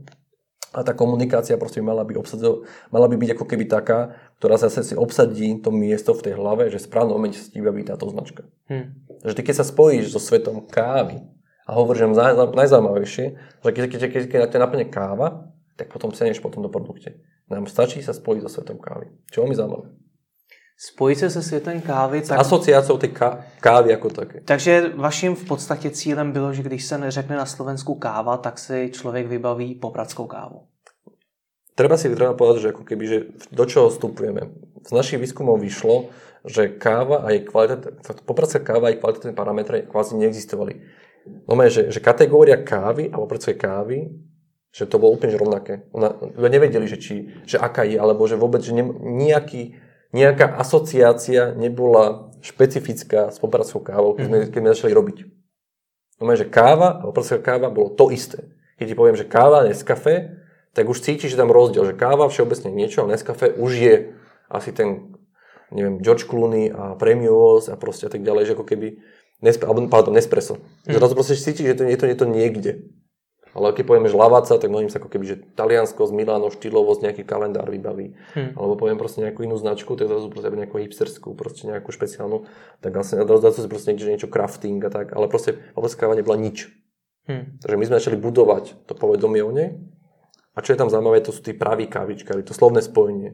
A tá komunikácia proste mala by, obsadzov, mala by byť ako keby taká, ktorá zase si obsadí to miesto v tej hlave, že v správnom momente sa ti vybaví táto značka. Hmm. Že ty keď sa spojíš so svetom kávy a hovoríš, že najzaujímavejšie, že keď, keď, keď, keď ťa naplne káva, tak potom ceneš potom do produkte. Nám stačí sa spojiť so svetom kávy. Čo mi zaujímavé. Spojit se se světem kávy. Tak... Asociáciou tej kávy jako také. Takže vaším v podstatě cílem bylo, že když se neřekne na Slovensku káva, tak si člověk vybaví popradskou kávu. treba si treba povedať, že ako keby, že do čoho vstupujeme. Z našich výskumov vyšlo, že káva a jej kvalita, popradská káva a jej kvalitatívne parametre kvázi neexistovali. No že, že kategória kávy a popradskej kávy, že to bolo úplne rovnaké. Ona, nevedeli, že, či, že aká je, alebo že vôbec, že ne, nejaký, nejaká asociácia nebola špecifická s popradskou kávou, keď sme, keď sme začali robiť. No že káva a popradská káva bolo to isté. Keď ti poviem, že káva, Nescafé, tak už cítiš, že tam rozdiel, že káva všeobecne niečo, a Nescafé už je asi ten, neviem, George Clooney a Premios a proste a tak ďalej, že ako keby, Nesp- alebo, pardon, Nespresso. Mm. Zrazu proste cítiš, že to, je, to, je to niekde. Ale keď povieme, že Lavazza, tak mnohým sa ako keby, že Taliansko z Miláno, štýlovosť, nejaký kalendár vybaví. Mm. Alebo poviem proste nejakú inú značku, tak zrazu proste nejakú hipsterskú, proste nejakú špeciálnu, tak vlastne zrazu si proste niekde, niečo crafting a tak, ale proste popradská káva nebola nič. Mm. Takže my sme začali budovať to povedomie o nej. A čo je tam zaujímavé, to sú tí praví kávičkári, to slovné spojenie.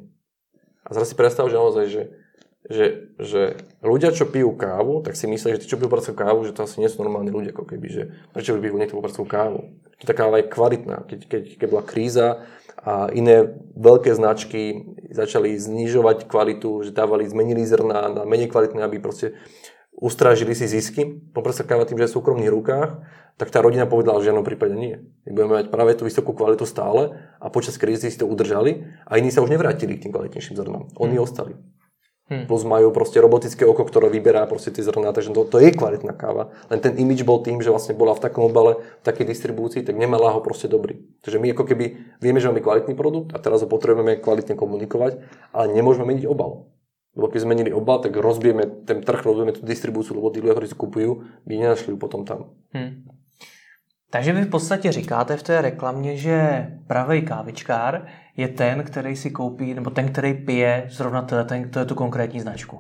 A zrazu si predstav, že naozaj, že, že, že ľudia, čo pijú kávu, tak si myslia, že tí, čo pijú popradskou kávu, že to asi nie sú normálni ľudia, ako keby, že prečo by pijú niekto popradskou kávu. Tá káva je kvalitná. Keď, keď, keď bola kríza a iné veľké značky začali znižovať kvalitu, že dávali, zmenili zrná na menej kvalitné, aby proste ustrážili si zisky. Popradská káva tým, že je v súkromných rukách, tak tá rodina povedala, že v žiadnom prípade nie. My budeme mať práve tú vysokú kvalitu stále a počas krízy si to udržali a iní sa už nevrátili k tým kvalitnejším zrnám. Oni hmm. ostali. Hmm. Plus majú proste robotické oko, ktoré vyberá proste tie zrná, takže to, to je kvalitná káva. Len ten image bol tým, že vlastne bola v takom obale, v takej distribúcii, tak nemala ho proste dobrý. Takže my ako keby vieme, že máme kvalitný produkt a teraz ho potrebujeme kvalitne komunikovať, ale nemôžeme meniť obal. Lebo keď zmenili obal, tak rozbijeme ten trh, rozbijeme tú distribúciu, lebo tí ľudia, ktorí si kupujú, by nenašli potom tam. Hmm. Takže vy v podstatě říkáte v té reklamě, že pravý kávičkár je ten, který si koupí, nebo ten, který pije zrovna ten, to je tu konkrétní značku.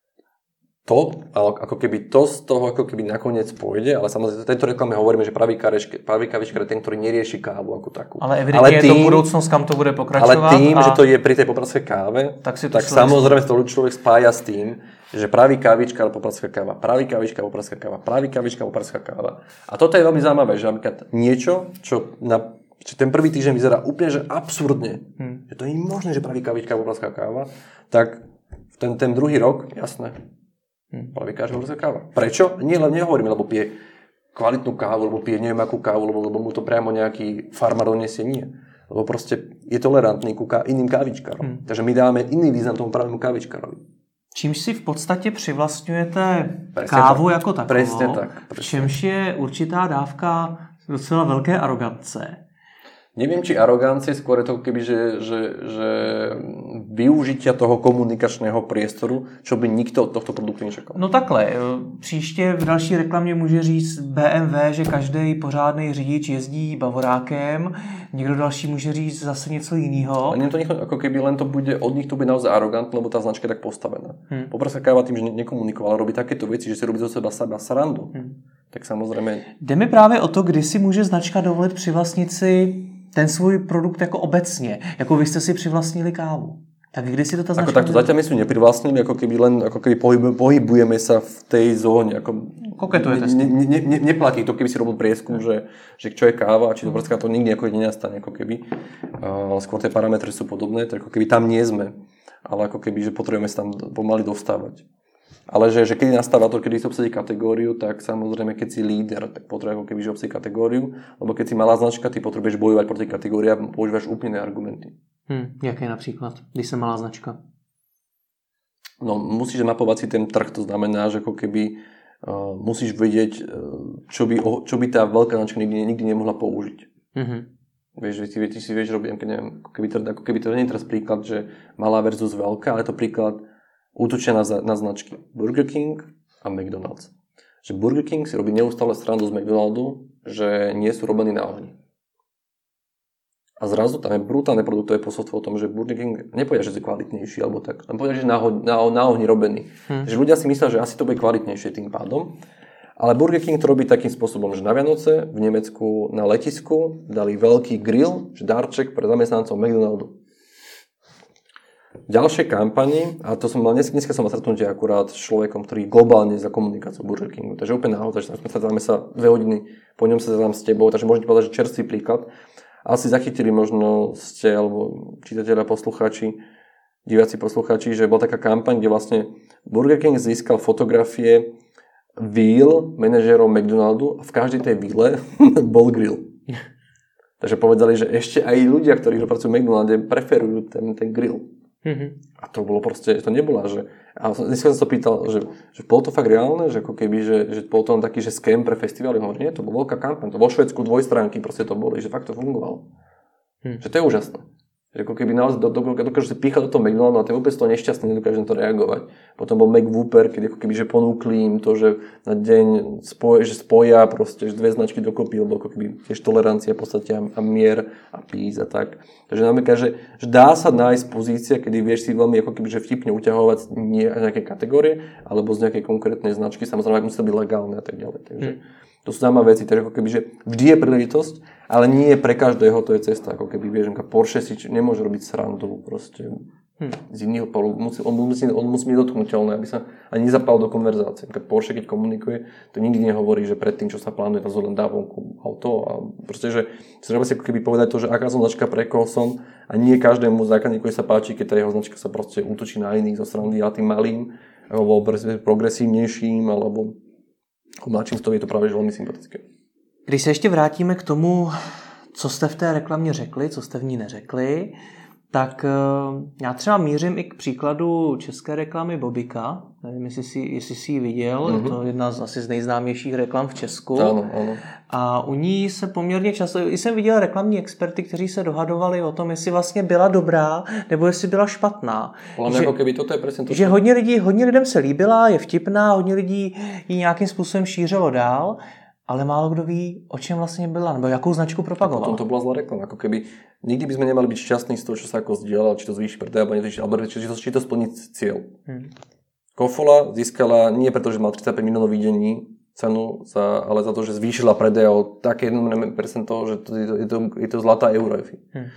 To, ale ako keby to z toho ako keby nakoniec pôjde, ale samozrejme v tejto reklame hovoríme, že pravý, kareške, pravý kávičkár je ten, ktorý nerieši kávu ako takú. Ale evidentne je to budúcnosť, kam to bude pokračovať. Ale tým, a... že to je pri tej popradskej káve, tak, tak samozrejme to človek spája s tým, že pravý kávičkár, popradská káva, pravý kávičkár, popradská káva, pravý kávičkár, popradská káva. A toto je veľmi zaujímavé, že napríklad niečo, čo na že ten prvý týždeň vyzerá úplne že absurdne, hmm. že to nie je možné, že pravý kávičkár, popradská káva, tak ten, ten druhý rok, jasné. Hmm. Pravý kávičkár, káva. Prečo? Nie, len nehovoríme, lebo pije kvalitnú kávu, lebo pije neviem akú kávu, lebo, lebo mu to priamo nejaký farmár donesie, nie. Lebo proste je tolerantný ku ká, iným kávičkárom. Hmm. Takže my dáme iný význam tomu pravému kávičkárovi. Čímž si v podstatě přivlastňujete presne kávu tak, jako takovou, presne tak, presne. Čímž je určitá dávka docela velké arogance. Neviem, či arogancie, skôr je to keby, že, že, že využitia toho komunikačného priestoru, čo by nikto od tohto produktu nečakal. No takhle, příště v další reklamě může říct bé em vé, že každý pořádný řidič jezdí bavorákem, někdo další může říct zase něco jiného. Ale to nech, ako keby len to bude, od nich to bude naozaj arogantné, lebo tá značka je tak postavená. Hmm. Popradská káva tým, že nekomunikovala, robí takéto veci, že si robí zo seba seba srandu. Hmm. Tak samozrejme... Jde mi právě o to, kdy si může značka dovolit přivlastnit si ten svůj produkt jako obecně, jako vy jste si přivlastnili kávu. Tak kdy si to ta značka... Ako takto zatiaľ my sme neprivlastnili, ako keby len ako keby pohybujeme sa v tej zóne. Ako koketujete ne, ne, ne, ne, neplatí to, keby si robil prieskum, že, že čo je káva a či to popradská, to nikdy ako nenastane. Ako keby. Uh, skôr tie parametre sú podobné, tak ako keby tam nie sme. Ale ako keby, že potrebujeme sa tam pomaly dostávať. Ale že, že keď nastáva to, keď si obsadí kategóriu, tak samozrejme, keď si líder, tak potrebuješ ako keby, že obsadí kategóriu, lebo keď si malá značka, ty potrebuješ bojovať proti kategórii a používaš úplne argumenty. Hmm, jaké například, když jsem malá značka? No, musíš mapovať si ten trh, to znamená, že ako keby uh, musíš vedieť, uh, čo, by, čo by tá veľká značka nikdy, nikdy nemohla použiť. Mm-hmm. Vieš, že ty, ty si vieš robiť, neviem, ako keby to, ako keby to nie je teraz príklad, že malá versus veľká, ale je to príklad útočia na, na značky Burger King a McDonald's. Že Burger King si robí neustále srandu z McDonaldu, že nie sú robení na ohni. A zrazu tam je brutálne produktové posolstvo o tom, že Burger King nepovedia, že je kvalitnejší alebo tak. Tam povedia, že je na, na, na ohni robený. Hmm. Že ľudia si myslia, že asi to bude kvalitnejšie tým pádom. Ale Burger King to robí takým spôsobom, že na Vianoce v Nemecku na letisku dali veľký grill, že darček pre zamestnancov McDonaldu. Ďalšie kampani, a to som mal dnes, dneska som mal stretnutie akurát s človekom, ktorý globálne za komunikáciu Burger Kingu. Takže úplne náhodou, takže sme stretáme sa dve hodiny, po ňom sa stretám s tebou, takže môžete povedať, že čerstvý príklad. asi zachytili možno ste, alebo čitatelia, poslucháči, diváci poslucháči, že bola taká kampaň, kde vlastne Burger King získal fotografie víl manažérov McDonaldu a v každej tej víle bol grill. Takže povedali, že ešte aj ľudia, ktorí pracujú v McDonalde, preferujú ten, ten grill. Mm-hmm. A to bolo proste, to nebola, že... A dneska som sa pýtal, že, že bolo to fakt reálne, že ako keby, že, že bol to taký, že scam pre festivály, hovorí, nie, to bola veľká kampaň, to vo Švédsku dvojstránky proste to boli, že fakt to fungovalo. Mm. Že to je úžasné. Že ako keby naozaj do, do, dokážu si píchať do toho McDonaldu a ten vôbec to nešťastný, nedokáže na to reagovať. Potom bol McWhooper, keď ako keby, že ponúkli im to, že na deň spoj, že spoja proste, že dve značky dokopy, lebo ako keby tiež tolerancia v podstate a, a mier a peace a tak. Takže napríklad, že, že dá sa nájsť pozícia, kedy vieš si veľmi ako keby, že vtipne uťahovať nie nejaké kategórie, alebo z nejakej konkrétnej značky, samozrejme, musí to byť legálne a tak ďalej. Takže hmm. to sú zaujímavé veci, takže ako keby, že vždy je príležitosť, ale nie pre každého to je cesta, ako keby, vieš, Porsche si nemôže robiť srandu proste hmm. z iného polu, musí, on, musí, on musí byť dotknuteľný, aby sa ani nezapal do konverzácie. Keď Porsche, keď komunikuje, to nikdy nehovorí, že pred tým, čo sa plánuje, to len dá vonku auto a proste, že si treba si ako keby povedať to, že aká som značka, pre koho som a nie každému zákazníkovi sa páči, keď tá jeho značka sa proste útočí na iných zo srandy a tým malým, alebo progresívnejším, alebo mladším z toho je to práve velmi sympatické. Když se ještě vrátíme k tomu, co jste v té reklamě řekli, co jste v ní neřekli, tak já třeba mířím i k příkladu české reklamy Bobika. Nevím, jestli jsi, jestli jsi ji viděl. Mm-hmm. Je to jedna z asi z nejznámějších reklam v Česku. Ano, ano. A u ní se poměrně často, i jsem viděl reklamní experty, kteří se dohadovali o tom, jestli vlastně byla dobrá, nebo jestli byla špatná. Ale že, jako keby toto je presne to, že hodně lidí, hodně lidem se líbila, je vtipná, hodně lidí ji nějakým způsobem šířilo dál, ale málo kdo ví, o čem vlastně byla, nebo jakou značku propagovala. Potom to bola zlá reklama, ako keby nikdy by sme nemali byť šťastní z toho, čo sa ako zdieľa, či to zvýši predaj, alebo či to, či to splní cieľ. Hmm. Kofola získala nie preto, že mal tridsaťpäť miliónov videní cenu, za, ale za to, že zvýšila predaj o také jedno percento, že to, je, to, je to zlatá euro. Hmm.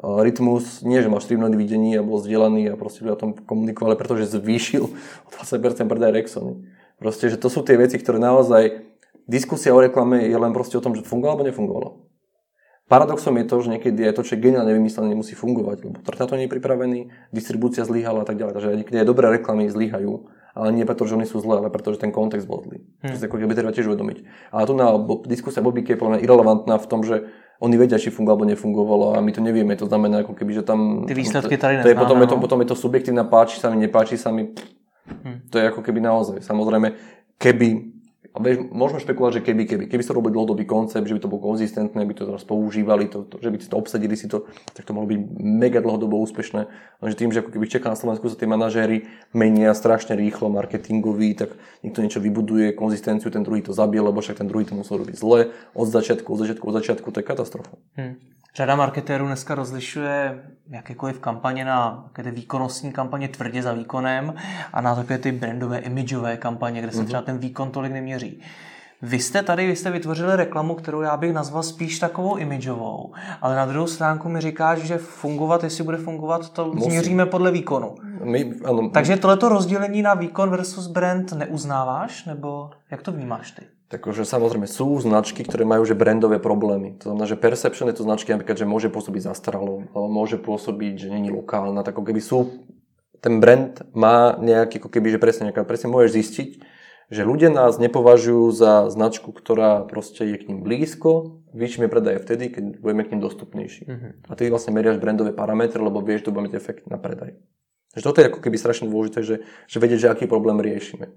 Rytmus nie, že mal štyri milióny videní a bol zdieľaný a proste o tom komunikoval, pretože zvýšil o dvadsať percent predaj Rexony. Proste, že to sú tie veci, ktoré naozaj diskusia o reklame je len proste o tom, že fungovalo alebo nefungovalo. Paradoxom je to, že niekedy aj to, čo je geniálne vymyslené, nemusí fungovať, lebo trh na to nie je pripravený, distribúcia zlyhala a tak ďalej. Takže niekedy aj dobré reklamy zlyhajú, ale nie preto, že oni sú zlé, ale preto, že ten kontext bol zlý. Hmm. To si ako keby treba tiež uvedomiť. Ale tu na diskusia Bobíky je podľa mňa irelevantná v tom, že oni vedia, či fungovalo alebo nefungovalo a my to nevieme. To znamená, ako keby, že tam... Ty výsledky tady neznáme. To je, potom, je to, potom je to subjektívna, páči sa mi, nepáči sa mi. Hmm. To je ako keby naozaj. Samozrejme, keby... A vieš, môžeme špekulovať, že keby, keby, keby sa robil dlhodobý koncept, že by to bolo konzistentné, by to teraz používali, to, to, že by si to obsadili si to, tak to mohlo byť mega dlhodobo úspešné. Lenže tým, že ako keby čaká na Slovensku sa tie manažéri menia strašne rýchlo, marketingoví, tak niekto niečo vybuduje, konzistenciu, ten druhý to zabije, lebo však ten druhý to musel robiť zle, od začiatku, od začiatku, od začiatku, to je katastrofa. Hmm. Řada marketérů dneska rozlišuje jakékoliv kampaně na také výkonnostní kampaně tvrdě za výkonem a na takové ty brandové, imidžové kampaně, kde se třeba ten výkon tolik neměří. Vy jste tady, vy jste vytvořili reklamu, kterou já bych nazval spíš takovou imidžovou, ale na druhou stránku mi říkáš, že fungovat, jestli bude fungovat, to Musím. změříme podle výkonu. My, ano, Takže tohleto rozdělení na výkon versus brand neuznáváš, nebo jak to vnímáš ty? Takže samozrejme sú značky, ktoré majú že brandové problémy. To znamená, že perception je to značky napríklad, že môže pôsobiť zastaralo, alebo môže pôsobiť, že není lokálna, tak ako keby sú, ten brand má nejaký, ako keby, že presne, nejaká, presne môžeš zistiť, že ľudia nás nepovažujú za značku, ktorá proste je k ním blízko, vyššie predaje vtedy, keď budeme k ním dostupnejší. Mm-hmm. A ty vlastne meriaš brandové parametre, lebo vieš, že to bude mať efekt na predaj. Takže toto je ako keby strašne dôležité, že, že vedieť, že aký problém riešime.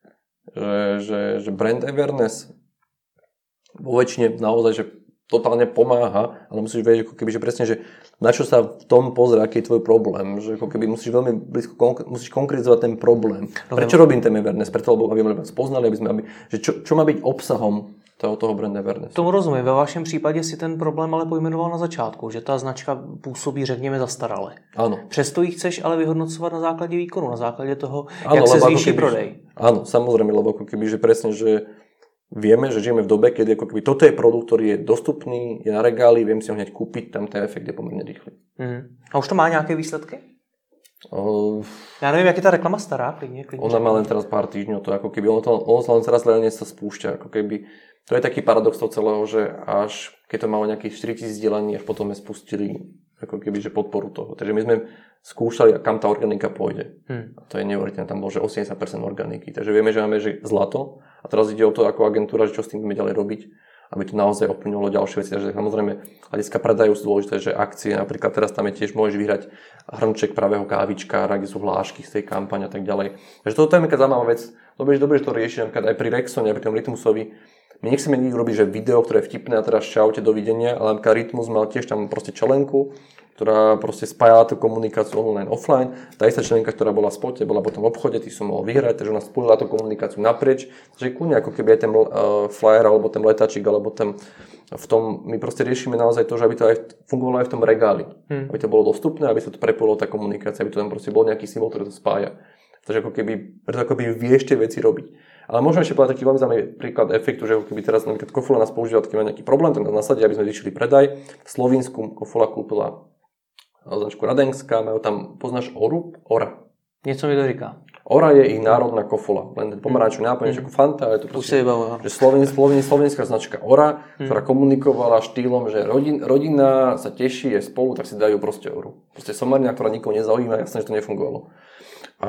Že, že, že brand awareness vo väčšine naozaj, že totálne pomáha, ale musíš vedieť, ako keby, že presne, že na čo sa v tom pozrie, aký je tvoj problém, že ako keby musíš veľmi blízko, konk- musíš konkretizovať ten problém. Prečo robím ten awareness? Preto, lebo aby sme spoznali, aby sme, aby, že čo, čo má byť obsahom toho, toho brand awareness. Tomu rozumím. Ve vašem případě si ten problém ale pojmenoval na začátku, že ta značka působí, řekněme, zastarale. Áno. Přesto ji chceš ale vyhodnocovat na základě výkonu, na základě toho, ano, jak se zvýší keby, prodej. Áno, samozrejme, lebo ako keby, že presne, že vieme, že žijeme v dobe, kedy ako keby toto je produkt, ktorý je dostupný, je na regáli, viem si ho hneď kúpiť, tam ten efekt je pomerne rýchly. Mm. A už to má nějaké výsledky? Uh, Já nevím, jak je ta reklama stará, klidně, klidně. Ona má len teraz pár týždňov, to ako keby, ono, to, ono sa len teraz reálne sa spúšťa, ako keby To je taký paradox toho celého, že až keď to malo nejakých štyritisíc zdieľaní, až potom sme spustili ako keby, že podporu toho. Takže my sme skúšali, kam tá organika pôjde. Hmm. A to je neuveriteľné, tam bolo, že osemdesiat percent organiky. Takže vieme, že máme že zlato a teraz ide o to ako agentúra, že čo s tým budeme ďalej robiť, aby to naozaj ovplyvnilo ďalšie veci. Takže samozrejme, hľadiska predajú sú dôležité, že akcie, napríklad teraz tam je tiež, môžeš vyhrať hrnček pravého kávičkára, kde sú hlášky z tej kampane a tak ďalej. Takže toto je nejaká zaujímavá vec. Dobre, že dobre, že to rieši, napríklad aj pri Rexone, aj pri tom Rytmusovi. My nechceme nikdy robiť, že video, ktoré je vtipné a teraz čaute, dovidenia, ale napríklad Rytmus mal tiež tam proste členku, ktorá proste spájala tú komunikáciu online, offline. Tá istá členka, ktorá bola v spote, bola potom v obchode, ty som mohol vyhrať, takže ona spojila tú komunikáciu naprieč. Takže kľudne ako keby aj ten uh, flyer, alebo ten letačik, alebo ten v tom, my proste riešime naozaj to, že aby to aj fungovalo aj v tom regáli. Hmm. Aby to bolo dostupné, aby sa to prepojilo tá komunikácia, aby to tam proste bol nejaký symbol, ktorý to spája. Takže ako keby, preto ako keby vieš tie veci robiť. Ale môžeme ešte povedať taký veľmi zaujímavý príklad efektu, že ako keby teraz napríklad Kofola nás používa, keď má nejaký problém, tak nás nasadia, aby sme zvýšili predaj. V Slovinsku Kofola kúpila značku Radenská, majú tam, poznáš Oru? Ora. Něco mi to říká. Ora je ich národná kofola, len ten pomarančový náplň, mm. ako Fanta, ale to proste, že Sloven, Sloven, slovenská značka Ora, mm. ktorá komunikovala štýlom, že rodin, rodina sa teší, je spolu, tak si dajú proste Oru. Proste somarina, ktorá nikoho nezaujíma, jasné, že to nefungovalo. A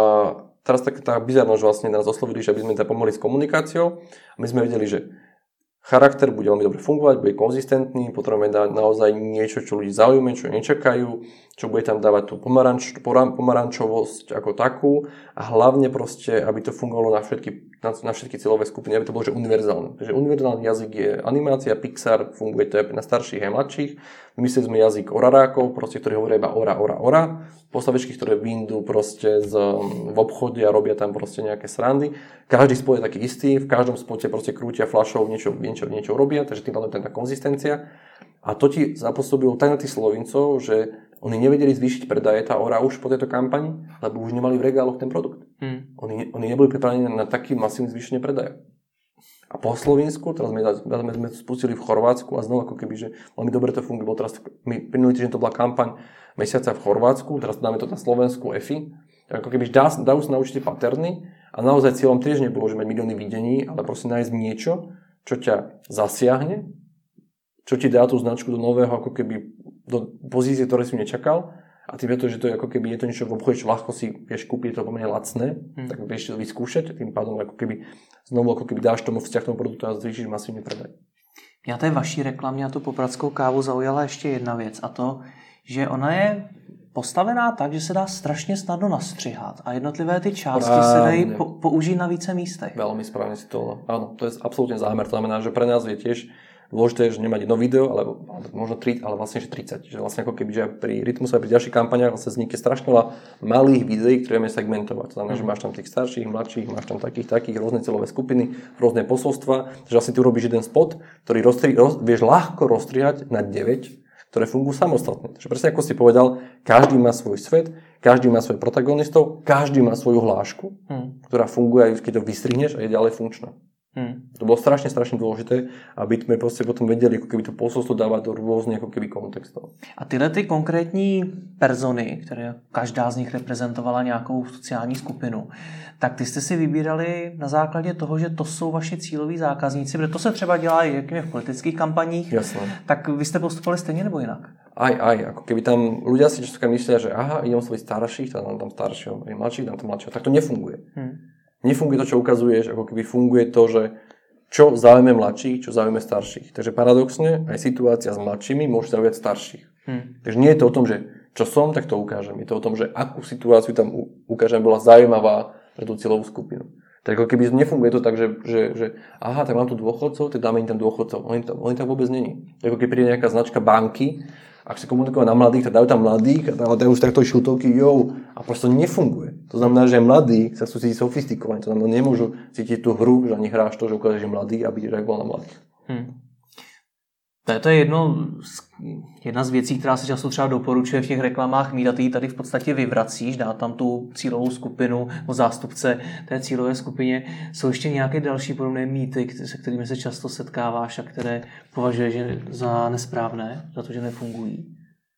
teraz taká tá bizarnosť, že vlastne nás oslovili, že aby sme tam pomohli s komunikáciou a my sme vedeli, že charakter bude veľmi dobre fungovať, bude konzistentný, potrebujeme dať naozaj niečo, čo ľudí zaujíma, čo nečakajú, čo bude tam dávať tú pomaranč, pomarančovosť ako takú a hlavne proste, aby to fungovalo na všetky, na, na všetky cieľové skupiny, aby to bolo že univerzálne. Takže univerzálny jazyk je animácia, Pixar, funguje to aj na starších a mladších. Vymysleli sme jazyk orarákov, proste, ktorí hovoria iba ora, ora, ora. Postavičky, ktoré vyjdú proste z, v obchode a robia tam proste nejaké srandy. Každý spot je taký istý, v každom spote proste krútia fľašou, niečo, niečo, niečo robia, takže tým pádom je tá konzistencia. A to ti zapôsobilo tak na tých Slovincov, že oni nevedeli zvýšiť predaje tá Ora už po tejto kampani, lebo už nemali v regáloch ten produkt. Hmm. Oni, oni neboli pripravení na taký masívny zvýšenie predaja. A po Slovensku, teraz sme, sme spustili v Chorvátsku a znova ako keby, že veľmi dobre to funguje. Teraz my minulý týždeň to bola kampaň mesiaca v Chorvátsku, teraz dáme to na Slovensku ef í. Ako keby dá, dajú sa naučiť paterny a naozaj cieľom tiež nebolo, že mať milióny videní, ale proste nájsť niečo, čo ťa zasiahne, čo ti dá tú značku do nového, ako keby do pozície, ktoré si nečakal. A tým je to, že to je ako keby je to niečo v obchode, čo ľahko si vieš kúpiť, je to pomerne lacné, hmm. tak vieš to vyskúšať, tým pádom ako keby znovu ako keby dáš tomu vzťah tomu produktu a zvýšiš masívne predaj. Já té vaší reklamě a tu popradskou kávu zaujala ještě jedna věc a to, že ona je postavená tak, že se dá strašně snadno nastřihat a jednotlivé ty části Právne. se dají po, použít na více místech. Veľmi správne si to, áno, to je absolútne zámer, to znamená, že pre nás je tiež dôležité, že nemať jedno video, ale možno tri, ale vlastne že tridsať. Že vlastne ako keby, že pri Rytmuse a pri ďalších kampaniách vlastne vznikne strašne veľa malých videí, ktoré vieme segmentovať. To znamená, že máš tam tých starších, mladších, máš tam takých, takých, rôzne celové skupiny, rôzne posolstva. Takže vlastne ty urobíš jeden spot, ktorý rozstri, roz, vieš ľahko rozstrihať na deväť, ktoré fungujú samostatne. Takže presne ako si povedal, každý má svoj svet, každý má svojich protagonistov, každý má svoju hlášku, hmm. ktorá funguje aj keď to vystrihneš a je ďalej funkčná. Hmm. To bolo strašne, strašne dôležité, aby sme proste potom vedeli, ako keby to posolstvo dávať do rôznych ako keby kontextov. A tyhle ty konkrétní persony, které každá z nich reprezentovala nějakou sociální skupinu, tak ty jste si vybírali na základě toho, že to jsou vaši cíloví zákazníci, protože to se třeba dělá i v politických kampaních. Jasné. Tak vy jste postupovali stejně nebo jinak? Aj, aj, ako keby tam ľudia si často myslia, že aha, idem svojich starších, tam tam staršieho, aj mladších, tam tam mladšieho. Tak to nefunguje. Hmm. Nefunguje to, čo ukazuješ, ako keby funguje to, že čo zaujme mladších, čo zaujme starších. Takže paradoxne, aj situácia s mladšími môže zaujať starších. Hmm. Takže nie je to o tom, že čo som, tak to ukážem. Je to o tom, že akú situáciu tam ukážem, bola zaujímavá pre tú cieľovú skupinu. Tak ako keby nefunguje to tak, že, že, že aha, tak mám tu dôchodcov, tak dáme im tam dôchodcov. Oni tam, oni tam vôbec není. Ako keď príde nejaká značka banky, ak si komunikovať na mladých, tak dajú tam mladých a dajú už takto šiltovky, jo, a proste nefunguje. To znamená, že mladí sa sú cítiť sofistikovaní, to znamená, nemôžu cítiť tú hru, že ani hráš to, že ukážeš mladý, aby reagoval na mladých. Hmm. To je, to je jedno, jedna z věcí, která se často třeba doporučuje v těch reklamách mít a ty ji tady v podstatě vyvracíš, dá tam tu cílovou skupinu o zástupce té cílové skupině. Jsou ještě nějaké další podobné mýty, se kterými se často setkáváš a které považuješ za nesprávné, za to, že nefungují?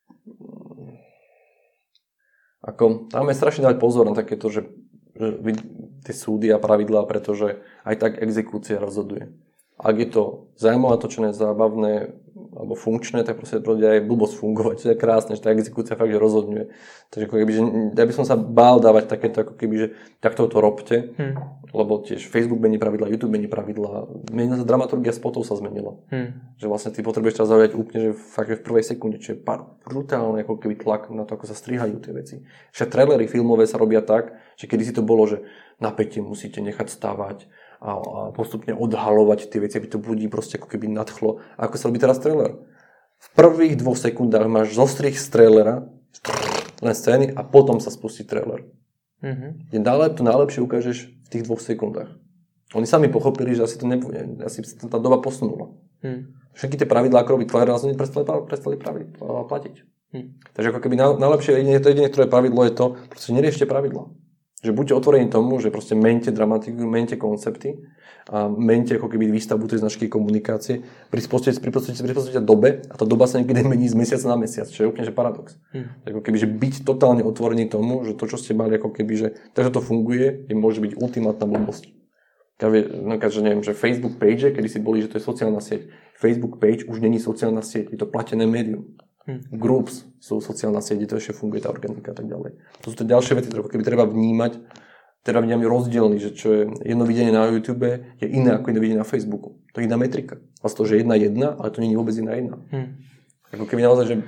Ako, tam je strašne dať pozor na takéto, že, že tie súdy a pravidlá, pretože aj tak exekúcia rozhoduje. Ak je to zaujímavé, natočené, zábavné alebo funkčné, tak proste to aj blbosť fungovať. To je krásne, že tá exekúcia fakt, že rozhodňuje. Takže ako keby, že ja by som sa bál dávať takéto, ako keby, že takto to robte, hmm. lebo tiež Facebook mení pravidla, YouTube mení pravidla, menila sa dramaturgia spotov sa zmenila. Hmm. Že vlastne ty potrebuješ teraz zaujať úplne, že fakt, že v prvej sekunde, čo je pár brutálny ako keby tlak na to, ako sa strihajú tie veci. Však trailery filmové sa robia tak, že kedysi to bolo, že napätie musíte nechať stávať a postupne odhalovať tie veci, aby to ľudí proste ako keby nadchlo. A ako sa robí teraz trailer? V prvých dvoch sekundách máš zostrih z trailera, len scény a potom sa spustí trailer. Mm-hmm. Je to najlepšie ukážeš v tých dvoch sekundách. Oni sami pochopili, že asi to nebude, asi tá doba posunula. Mm. Všetky tie pravidlá, ako robiť trailer, nás oni prestali, prestali pravidla, platiť. Mm. Takže ako keby najlepšie, to jediné, ktoré pravidlo je to, proste neriešte pravidla. Že buďte otvorení tomu, že proste mente dramatiku, mente koncepty a mente ako keby výstavbu tej značky komunikácie, prispôsobite prispôsobite dobe a tá doba sa niekedy mení z mesiaca na mesiac, čo je úplne že paradox. Hmm. Ako keby, že byť totálne otvorený tomu, že to, čo ste mali, ako keby, že takže to funguje, je môže byť ultimátna blbosť. Napríklad, že neviem, že Facebook page, kedy si boli, že to je sociálna sieť. Facebook page už není sociálna sieť, je to platené médium. Hmm. Groups sú sociálna sieť, to ešte funguje tá organika a tak ďalej. To sú to ďalšie veci, ktoré keby treba vnímať, teda vnímať rozdielny, že čo je jedno videnie na YouTube je iné ako jedno videnie na Facebooku. To je iná metrika. Vlastne to, že jedna jedna, ale to nie je vôbec iná jedna. Hmm. Ako keby naozaj, že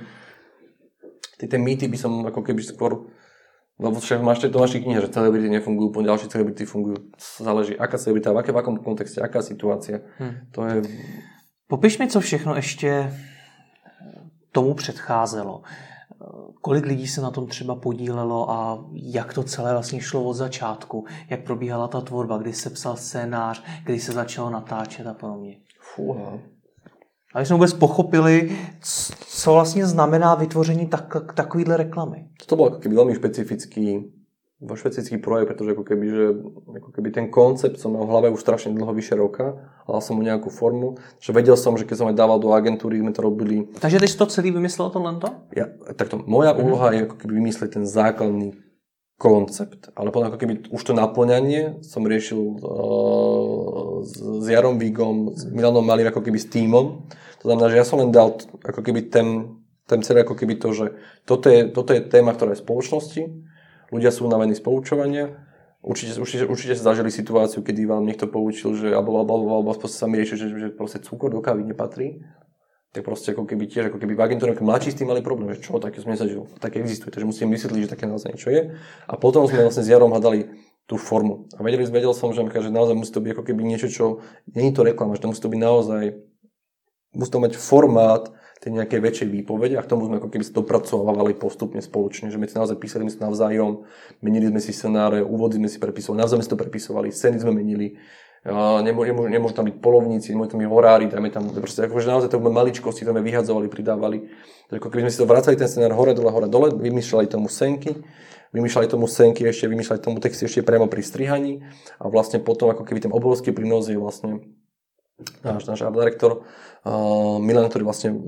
tie mýty by som ako keby skôr, lebo však máš to v vašich knihe, že celebrity nefungujú, po ďalšie celebrity fungujú. Záleží, aká celebrita, v, aké, v akom kontexte, aká situácia. Hmm. To je... Popiš mi, co všechno ještě tomu předcházelo. Kolik lidí se na tom třeba podílelo a jak to celé vlastně šlo od začátku? Jak probíhala ta tvorba, kdy se psal scénář, kdy se začalo natáčet a podobně? Fúha. A jsme vůbec pochopili, co vlastně znamená vytvoření tak, takovýhle reklamy. To bol ako keby veľmi špecifický, špecifický projekt, pretože ako keby, že, ako keby ten koncept som mal v hlave už strašne dlho, vyše roka. Hľadal som mu nejakú formu, že vedel som, že keď som aj dával do agentúry, sme to robili. Takže ty si to celý vymyslel to len to? Ja, takto, moja úloha je ako keby vymyslieť ten základný koncept, ale potom ako keby už to naplňanie som riešil uh, s, s Jarom Vigom, s Milanom Malým, ako keby s tímom. To znamená, že ja som len dal ako keby ten, ten celý ako keby to, že toto je, toto je téma, ktorá je v spoločnosti. Ľudia sú unavení z poučovania. Určite, určite, určite sa zažili situáciu, kedy vám niekto poučil, že alebo, alebo, alebo, alebo sa mi rieši, že, že proste cukor do kávy nepatrí. Tak proste ako keby tiež, ako keby v agentúre, ako mladší s tým mali problém, že čo, také som nezažil, také existuje, takže musím vysvetliť, že také naozaj niečo je. A potom sme vlastne s Jarom hľadali tú formu. A vedeli, vedel som, že, že naozaj musí to byť ako keby niečo, čo, nie je to reklama, že to musí to byť naozaj, musí to mať formát tej nejakej väčšej výpovede a k tomu sme ako keby sa dopracovávali postupne spoločne, že my si naozaj písali sme si navzájom, menili sme si scenáre, úvody sme si prepisovali, navzájom sme si to prepisovali, scény sme menili, nemôžu, nemôžu, nemôžu tam byť polovníci, nemôžu tam byť horári, dáme tam, proste akože naozaj to maličkosti, to sme vyhadzovali, pridávali, takže ako keby sme si to vracali ten scenár hore, dole, hore, dole, vymýšľali tomu scénky, vymýšľali tomu scénky, ešte vymýšľali tomu texty ešte priamo pri strihaní a vlastne potom ako keby ten obrovský prínos je vlastne náš, náš art director uh, Milan, ktorý vlastne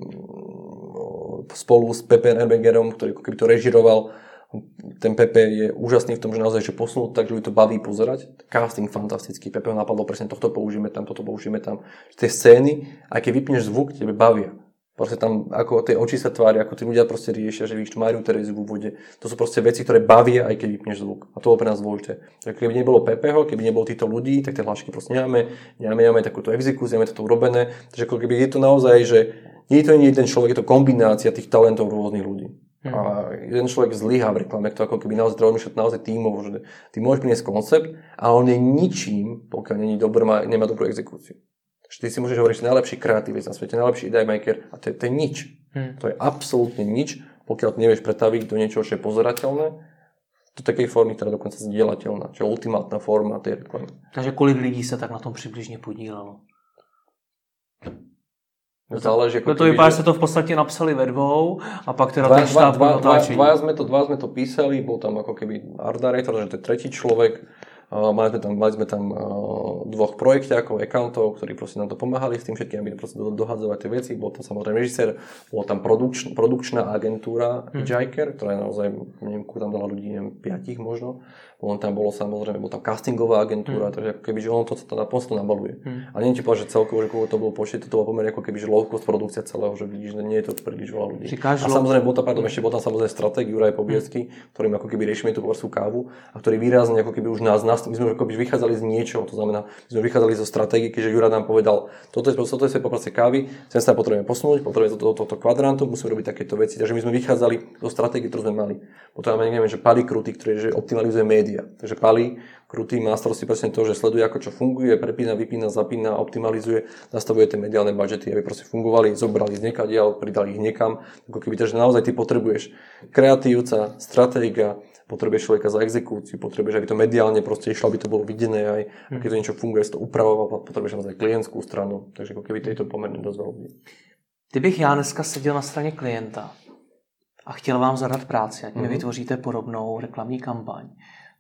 uh, spolu s Pepe Erbegerom, ktorý ako keby to režiroval. Ten Pepe je úžasný v tom, že naozaj že posunul tak, že ľudí to baví pozerať. Casting fantastický. Pepe ho napadlo presne, tohto použijeme tam, toto použijeme tam. Tie scény, aj keď vypneš zvuk, tebe bavia. Proste tam, ako tie oči sa tvária, ako tí ľudia proste riešia, že vidíš tu Máriu Tereziu v úvode. To sú proste veci, ktoré bavia, aj keď vypneš zvuk. A to bolo pre nás dôležité. Takže keby nebolo Pepeho, keby nebolo týchto ľudí, tak tie hlášky proste nemáme, nemáme, nemáme takúto exekúciu, nemáme to urobené. Takže ako keby je to naozaj, že nie je to nie jeden človek, je to kombinácia tých talentov rôznych ľudí. Hmm. A jeden človek zlyhá v reklame, to ako keby naozaj treba myšľať naozaj tímovo, že ty môžeš priniesť koncept, ale on je ničím, pokiaľ není dobrý, nemá dobrú exekúciu. Ty si môžeš hovoriť, že najlepší kreatívec na svete, najlepší idea maker a to je, to je nič. Hmm. To je absolútne nič, pokiaľ ty nevieš pretaviť do niečoho, čo je pozerateľné, do takej formy, ktorá je dokonca zdieľateľná, čo je ultimátna forma tej reklamy. Takže kolik lidí sa tak na tom přibližně podílelo? Záleží, no to vypadá, že ste to v podstate napsali ve dvou a pak teda ten štáb natáčení. Dva sme to, dva sme to písali, bol tam ako keby art director, že to je tretí človek, Uh, mali sme tam, mali sme tam uh, dvoch projekťákov, accountov, ktorí proste nám to pomáhali s tým všetkým, aby proste do, dohadzovať tie veci. Bol tam samozrejme režisér, bola tam produkč, produkčná agentúra hmm. Hitchhiker, ktorá je naozaj, neviem, tam dala ľudí, neviem, piatich možno. On tam bolo samozrejme, bol tam castingová agentúra, hmm. takže ako keby, že on to, to, to, to nabaluje. Hmm. A neviem ti povedať, že celkovo, že koľko to bolo počet, to bolo pomerne ako keby, že low cost produkcia celého, že vidíš, že nie je to príliš veľa ľudí. A samozrejme, bol tam, pardon, ešte bol tam samozrejme stratég Juraj Pobiedsky, hmm. ktorým ako keby riešime tú porskú kávu a ktorý výrazne ako keby už nás, nás my sme ako keby vychádzali z niečoho, to znamená, my sme vychádzali zo stratégie, keďže Juraj nám povedal, toto je toto je poprvé kávy, sem sa potrebujeme posunúť, potrebujeme toto to, to, to kvadrantu, musíme robiť takéto veci, takže my sme vychádzali zo stratégie, ktorú sme mali. Potom máme neviem, že Pali Krutý, ktorý že optimalizuje média. Takže Pali Krutý má starosti presne to, že sleduje, ako čo funguje, prepína, vypína, zapína, optimalizuje, nastavuje tie mediálne budžety, aby proste fungovali, zobrali z niekadiaľ, pridali ich niekam. Ako keby, takže naozaj ty potrebuješ kreatívca, stratéga, potrebuješ človeka za exekúciu, potrebuješ, aby to mediálne proste išlo, aby to bolo videné aj, hmm. keď to niečo funguje, si to upravoval, potrebuješ naozaj klientskú stranu, takže ako keby to je pomerne dosť veľa. Kdybych já dneska seděl na straně klienta a chtěl vám zadat práci, ať mi mm-hmm. vytvoříte podobnou reklamní kampaň,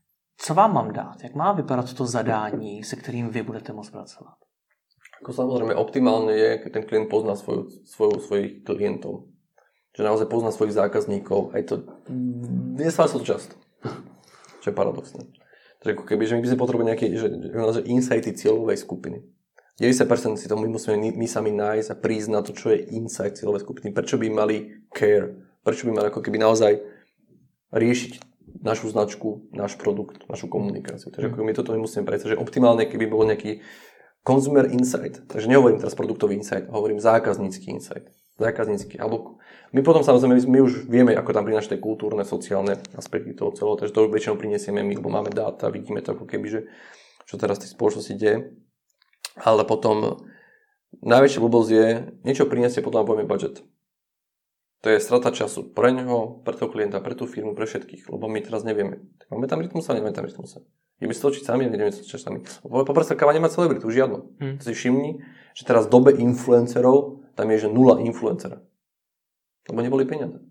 co vám mám dát? Jak má vypadat to zadání, se kterým vy budete moct pracovat? Ako samozrejme optimálne je, keď ten klient pozná svoju, svoju, svojich klientov. Že naozaj pozná svojich zákazníkov. Aj to nestáva sa to často. Čo je paradoxné. Takže ako keby, že my by sme potrebovali nejaké že, že insighty cieľovej skupiny. deväťdesiat percent si to my musíme my sami nájsť a prísť na to, čo je insight cieľovej skupiny. Prečo by mali care? Prečo by mali ako keby naozaj riešiť našu značku, náš produkt, našu komunikáciu. Takže ako my toto musíme predstaviť, že optimálne, keby bol nejaký consumer insight. Takže nehovorím teraz produktový insight, hovorím zákaznícky insight. Zákaznícky. Alebo my potom samozrejme, my už vieme, ako tam prinášať kultúrne, sociálne aspekty toho celého, takže to väčšinou prinesieme my, lebo máme dáta, vidíme to ako keby, že čo teraz v tej spoločnosti deje. Ale potom najväčšia blbosť je, niečo prinesie, potom povieme budget. To je strata času pre neho, pre toho klienta, pre tú firmu, pre všetkých, lebo my teraz nevieme. Tak máme tam rytmusa, nemáme tam rytmusa. Ideme si točiť sami, nevieme si točiť sami. Poprvé káva nemá celebritu, žiadnu. Hmm. Si všimni, že teraz v dobe influencerov tam je, že nula influencera. Lebo neboli peniaze.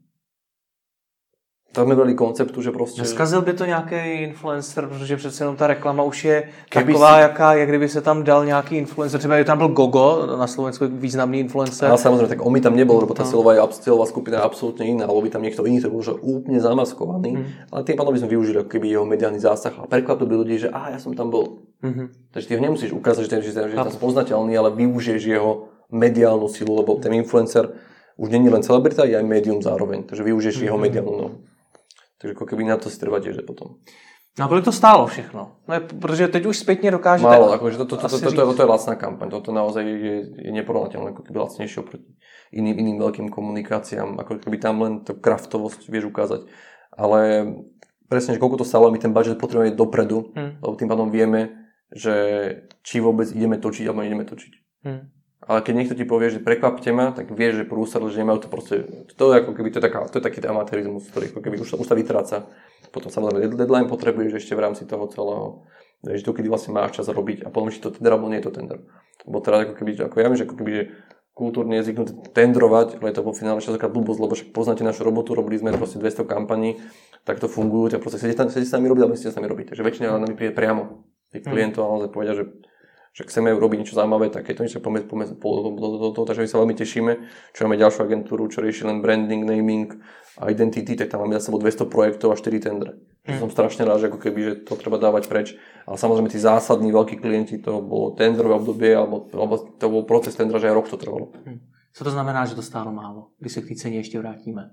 Tak jsme byli konceptu, že prostě... Neskazil by to nějaký influencer, protože přece jenom ta reklama už je taková, si... jaká je, kdyby se tam dal nějaký influencer. Třeba tam byl Gogo, na Slovensku významný influencer. A samozřejmě, tak on mi tam nebyl, lebo ta no. silová, silová skupina je absolútne iná, alebo by tam niekto iný, to bol že úplne zamaskovaný. Hmm. Ale tým pádom by sme využili ako keby jeho mediálny zásah a prekvapil by ľudí, že aha, ja som tam bol. Mm-hmm. Takže ty ho nemusíš ukázať, že ten že je tam poznateľný, ale využiješ jeho mediálnu silu, lebo ten influencer už není len celebrita, je aj médium zároveň. Takže využiješ mm-hmm. jeho mediálnu no. Takže jako keby na to si treba tiež potom. No a kolik to stálo všechno? No je, protože teď už zpětně dokážete... Málo, akože to, to, to, to, to, to, to je lacná kampaň. Toto naozaj je, je neporovnateľné, ako keby lacnejšie oproti iným, iným veľkým komunikáciám. Ako keby tam len tú kraftovosť vieš ukázať. Ale presne, že koľko to stálo, my ten budget potrebujeme dopredu, hmm. lebo tým pádom vieme, že či vôbec ideme točiť, alebo ideme točiť. Hmm. Ale keď niekto ti povie, že prekvapte ma, tak vieš, že prúser, že nemajú to proste... To je ako keby, to je, taká, to je taký amatérizmus, ktorý ako keby už, už sa vytráca. Potom samozrejme deadline potrebuješ ešte v rámci toho celého, že to kedy vlastne máš čas robiť a potom či to tender, alebo nie je to tender. Lebo teda ako keby, ako ja viem, že ako keby, že kultúrne je zvyknuté tendrovať, ale je to vo finále častokrát blbosť, lebo však poznáte našu robotu, robili sme proste dvesto kampaní, tak to fungujú, tak proste sedíte s nami robiť, ale musíte s nami robiť. Takže väčšina nami príde priamo. Tých klientov ale povedia, že že chceme robiť niečo zaujímavé, tak je to niečo pomedzi pomedzi do toho, takže my sa veľmi tešíme, čo máme ďalšiu agentúru, čo rieši len branding, naming a identity, tak tam máme za sebou dvesto projektov a štyri tendre. Mm. Som strašne rád, že ako keby, že to treba dávať preč, ale samozrejme tí zásadní veľkí klienti, to bolo tendrové obdobie, alebo, alebo to bol proces tendra, že aj rok to trvalo. Mm. Co to znamená, že to stálo málo, když se k té ceně ještě vrátíme?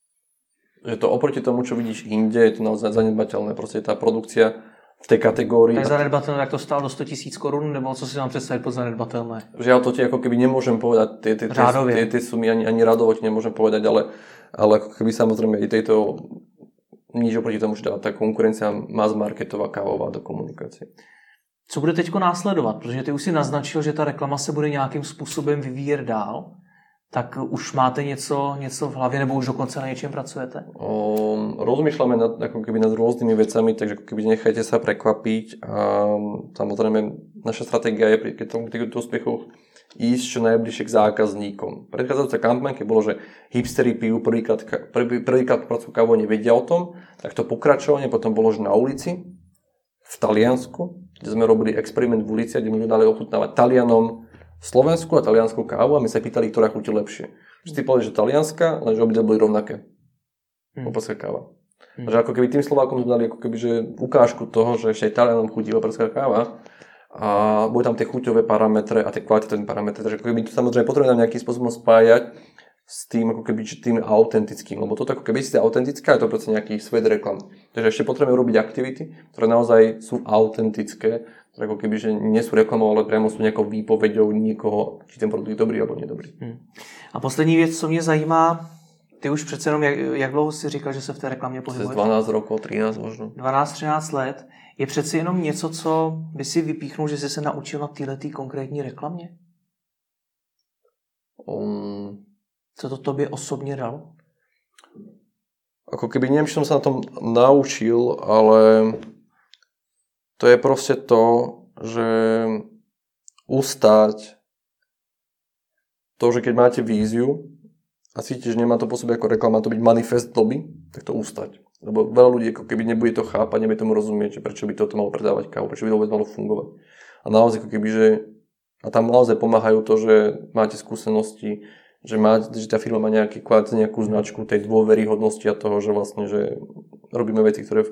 Že to oproti tomu, čo vidíš inde, je to naozaj zanedbateľné, proste tá produkcia v tej kategórii. Tak zanedbatelné, tak to stálo do sto tisíc korun, nebo co si mám představit pod zanedbatelné? Žiaľ, to ti ako keby nemôžem povedať, tie, tie, tie, tie, tie sumy ani, ani radovo ti nemôžem povedať, ale, ale ako keby samozrejme i tejto nič oproti tomu, že tá konkurencia mass marketová, kávová do komunikácie. Co bude teďko následovat? Protože ty už si naznačil, že ta reklama se bude nějakým způsobem vyvíjet dál. Tak už máte něco, něco v hlavě, nebo už dokonce na něčem pracujete? Um, rozmýšľame nad, ako keby nad rôznymi vecami, takže ako keby nechajte sa prekvapiť. A samozrejme, naša stratégia je pri týchto úspechoch ísť čo najbližšie k zákazníkom. Predchádzajúca kampaň, keď bolo, že hipstery pijú prvýkrát, prvý, prvýkrát pracovú kávu, nevedia o tom, tak to pokračovanie potom bolo, že na ulici, v Taliansku, kde sme robili experiment v ulici, kde my dali ochutnávať Talianom slovenskú a taliansku kávu a my sa pýtali, ktorá chutí lepšie. Vždy povedali, že talianska, lenže obidve boli rovnaké. Hmm. Opolská káva. Hmm. Že ako keby tým Slovákom sme dali ako keby, že ukážku toho, že ešte aj Talianom chutí opolská káva a boli tam tie chuťové parametre a tie kvalitatívne parametre. Takže ako keby to samozrejme potrebujeme nejakým spôsobom spájať s tým, ako keby, tým autentickým, lebo toto ako keby si autentická, je to proste nejaký svet reklam. Takže ešte potrebujeme robiť aktivity, ktoré naozaj sú autentické, ktoré ako keby, že nie sú reklamou, ale priamo sú nejakou výpovedou niekoho, či ten produkt je dobrý alebo nedobrý. Hmm. A poslední věc, co mě zajímá, ty už přece jenom, jak, jak dlouho jsi říkal, že se v té reklamě pohybuješ? dvanásť rokov, trinásť možno. dvanásť třináct let. Je přeci jenom něco, co by si vypíchnul, že jsi se naučil na této konkrétní reklamě? Um... Co to tobě osobně dalo? Ako keby neviem, či som sa na tom naučil, ale to je proste to, že ustať to, že keď máte víziu a cítiš, že nemá to po sebe ako reklama, má to byť manifest doby, tak to ustať. Lebo veľa ľudí ako keby nebude to chápať, nebude tomu rozumieť, že prečo by toto malo predávať kávu, prečo by to vôbec malo fungovať. A naozaj ako keby, že a tam naozaj pomáhajú to, že máte skúsenosti, že, má, že tá firma má nejaký kvát, nejakú značku tej dôveryhodnosti a toho, že vlastne, že robíme veci, ktoré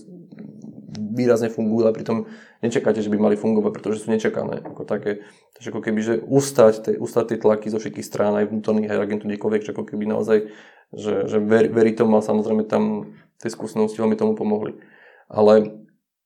výrazne fungujú, ale pritom nečakáte, že by mali fungovať, pretože sú nečakané. Ako také. Takže ako keby, že ustať, te, ustať tie tlaky zo všetkých strán, aj vnútorných, aj agentov, kdekoľvek, že ako keby naozaj, že, že ver, verí tomu a samozrejme tam tie skúsenosti veľmi tomu pomohli. Ale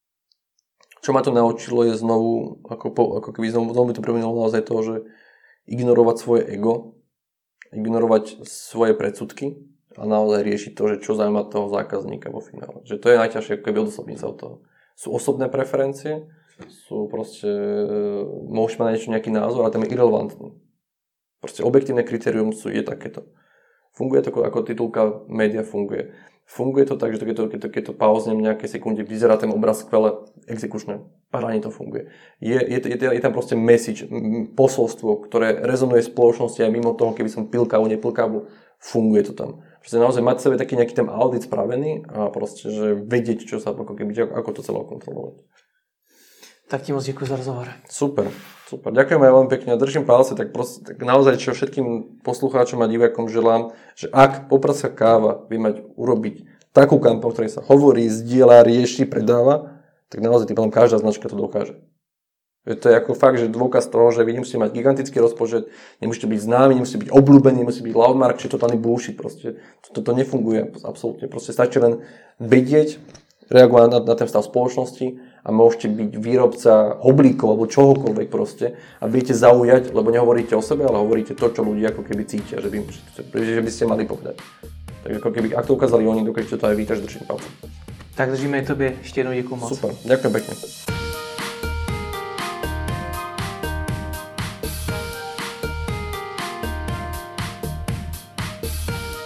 čo ma to naučilo je znovu, ako, po, ako keby znovu, znovu mi to premenilo naozaj to, že ignorovať svoje ego, ignorovať svoje predsudky a naozaj riešiť to, že čo zaujíma toho zákazníka vo finále. Že to je najťažšie, ako keby odosobniť sa od toho. Sú osobné preferencie, sú proste, môžeš mať na niečo nejaký názor, ale ten je irrelevantný. Proste objektívne kritérium sú, je takéto. Funguje to ako titulka média funguje. Funguje to tak, že keď to, keď to, keď to pauznem nejaké sekunde, vyzerá ten obraz skvele, exekučné, parádne to funguje. Je, je, je, je tam proste message, posolstvo, ktoré rezonuje v spoločnosti aj mimo toho, keby som pil kávu, nepil kávu, funguje to tam. Proste naozaj mať v sebe taký nejaký ten audit spravený a proste, že vedieť, čo sa, ako, keby, ako to celé kontrolovať. Tak ti moc děkuji za rozhovor. Super, super. Ďakujem aj veľmi pekne. Držím palce, tak, proste, tak naozaj čo všetkým poslucháčom a divákom želám, že ak Popradska káva vie mať urobiť takú kampaň, ktorej sa hovorí, zdieľa, rieši, predáva, tak naozaj tým každá značka to dokáže. To je ako fakt, že dôkaz toho, že vy nemusíte mať gigantický rozpočet, nemusíte byť známi, nemusíte byť obľúbení, nemusíte byť loudmark, či totálny bullshit. Proste to, to nefunguje absolútne. Proste stačí len vedieť, reagovať na, na ten stav spoločnosti a môžete byť výrobca hoblíkov alebo čohokoľvek proste a budete zaujať, lebo nehovoríte o sebe, ale hovoríte to, čo ľudia ako keby cítia, že by, že by ste mali povedať. Tak ako keby, ak to ukázali oni, dokážete to aj vy, takže držím palce. Tak držíme i tobě. Ještě jednou děkuji moc. Super, ďakujem pekne.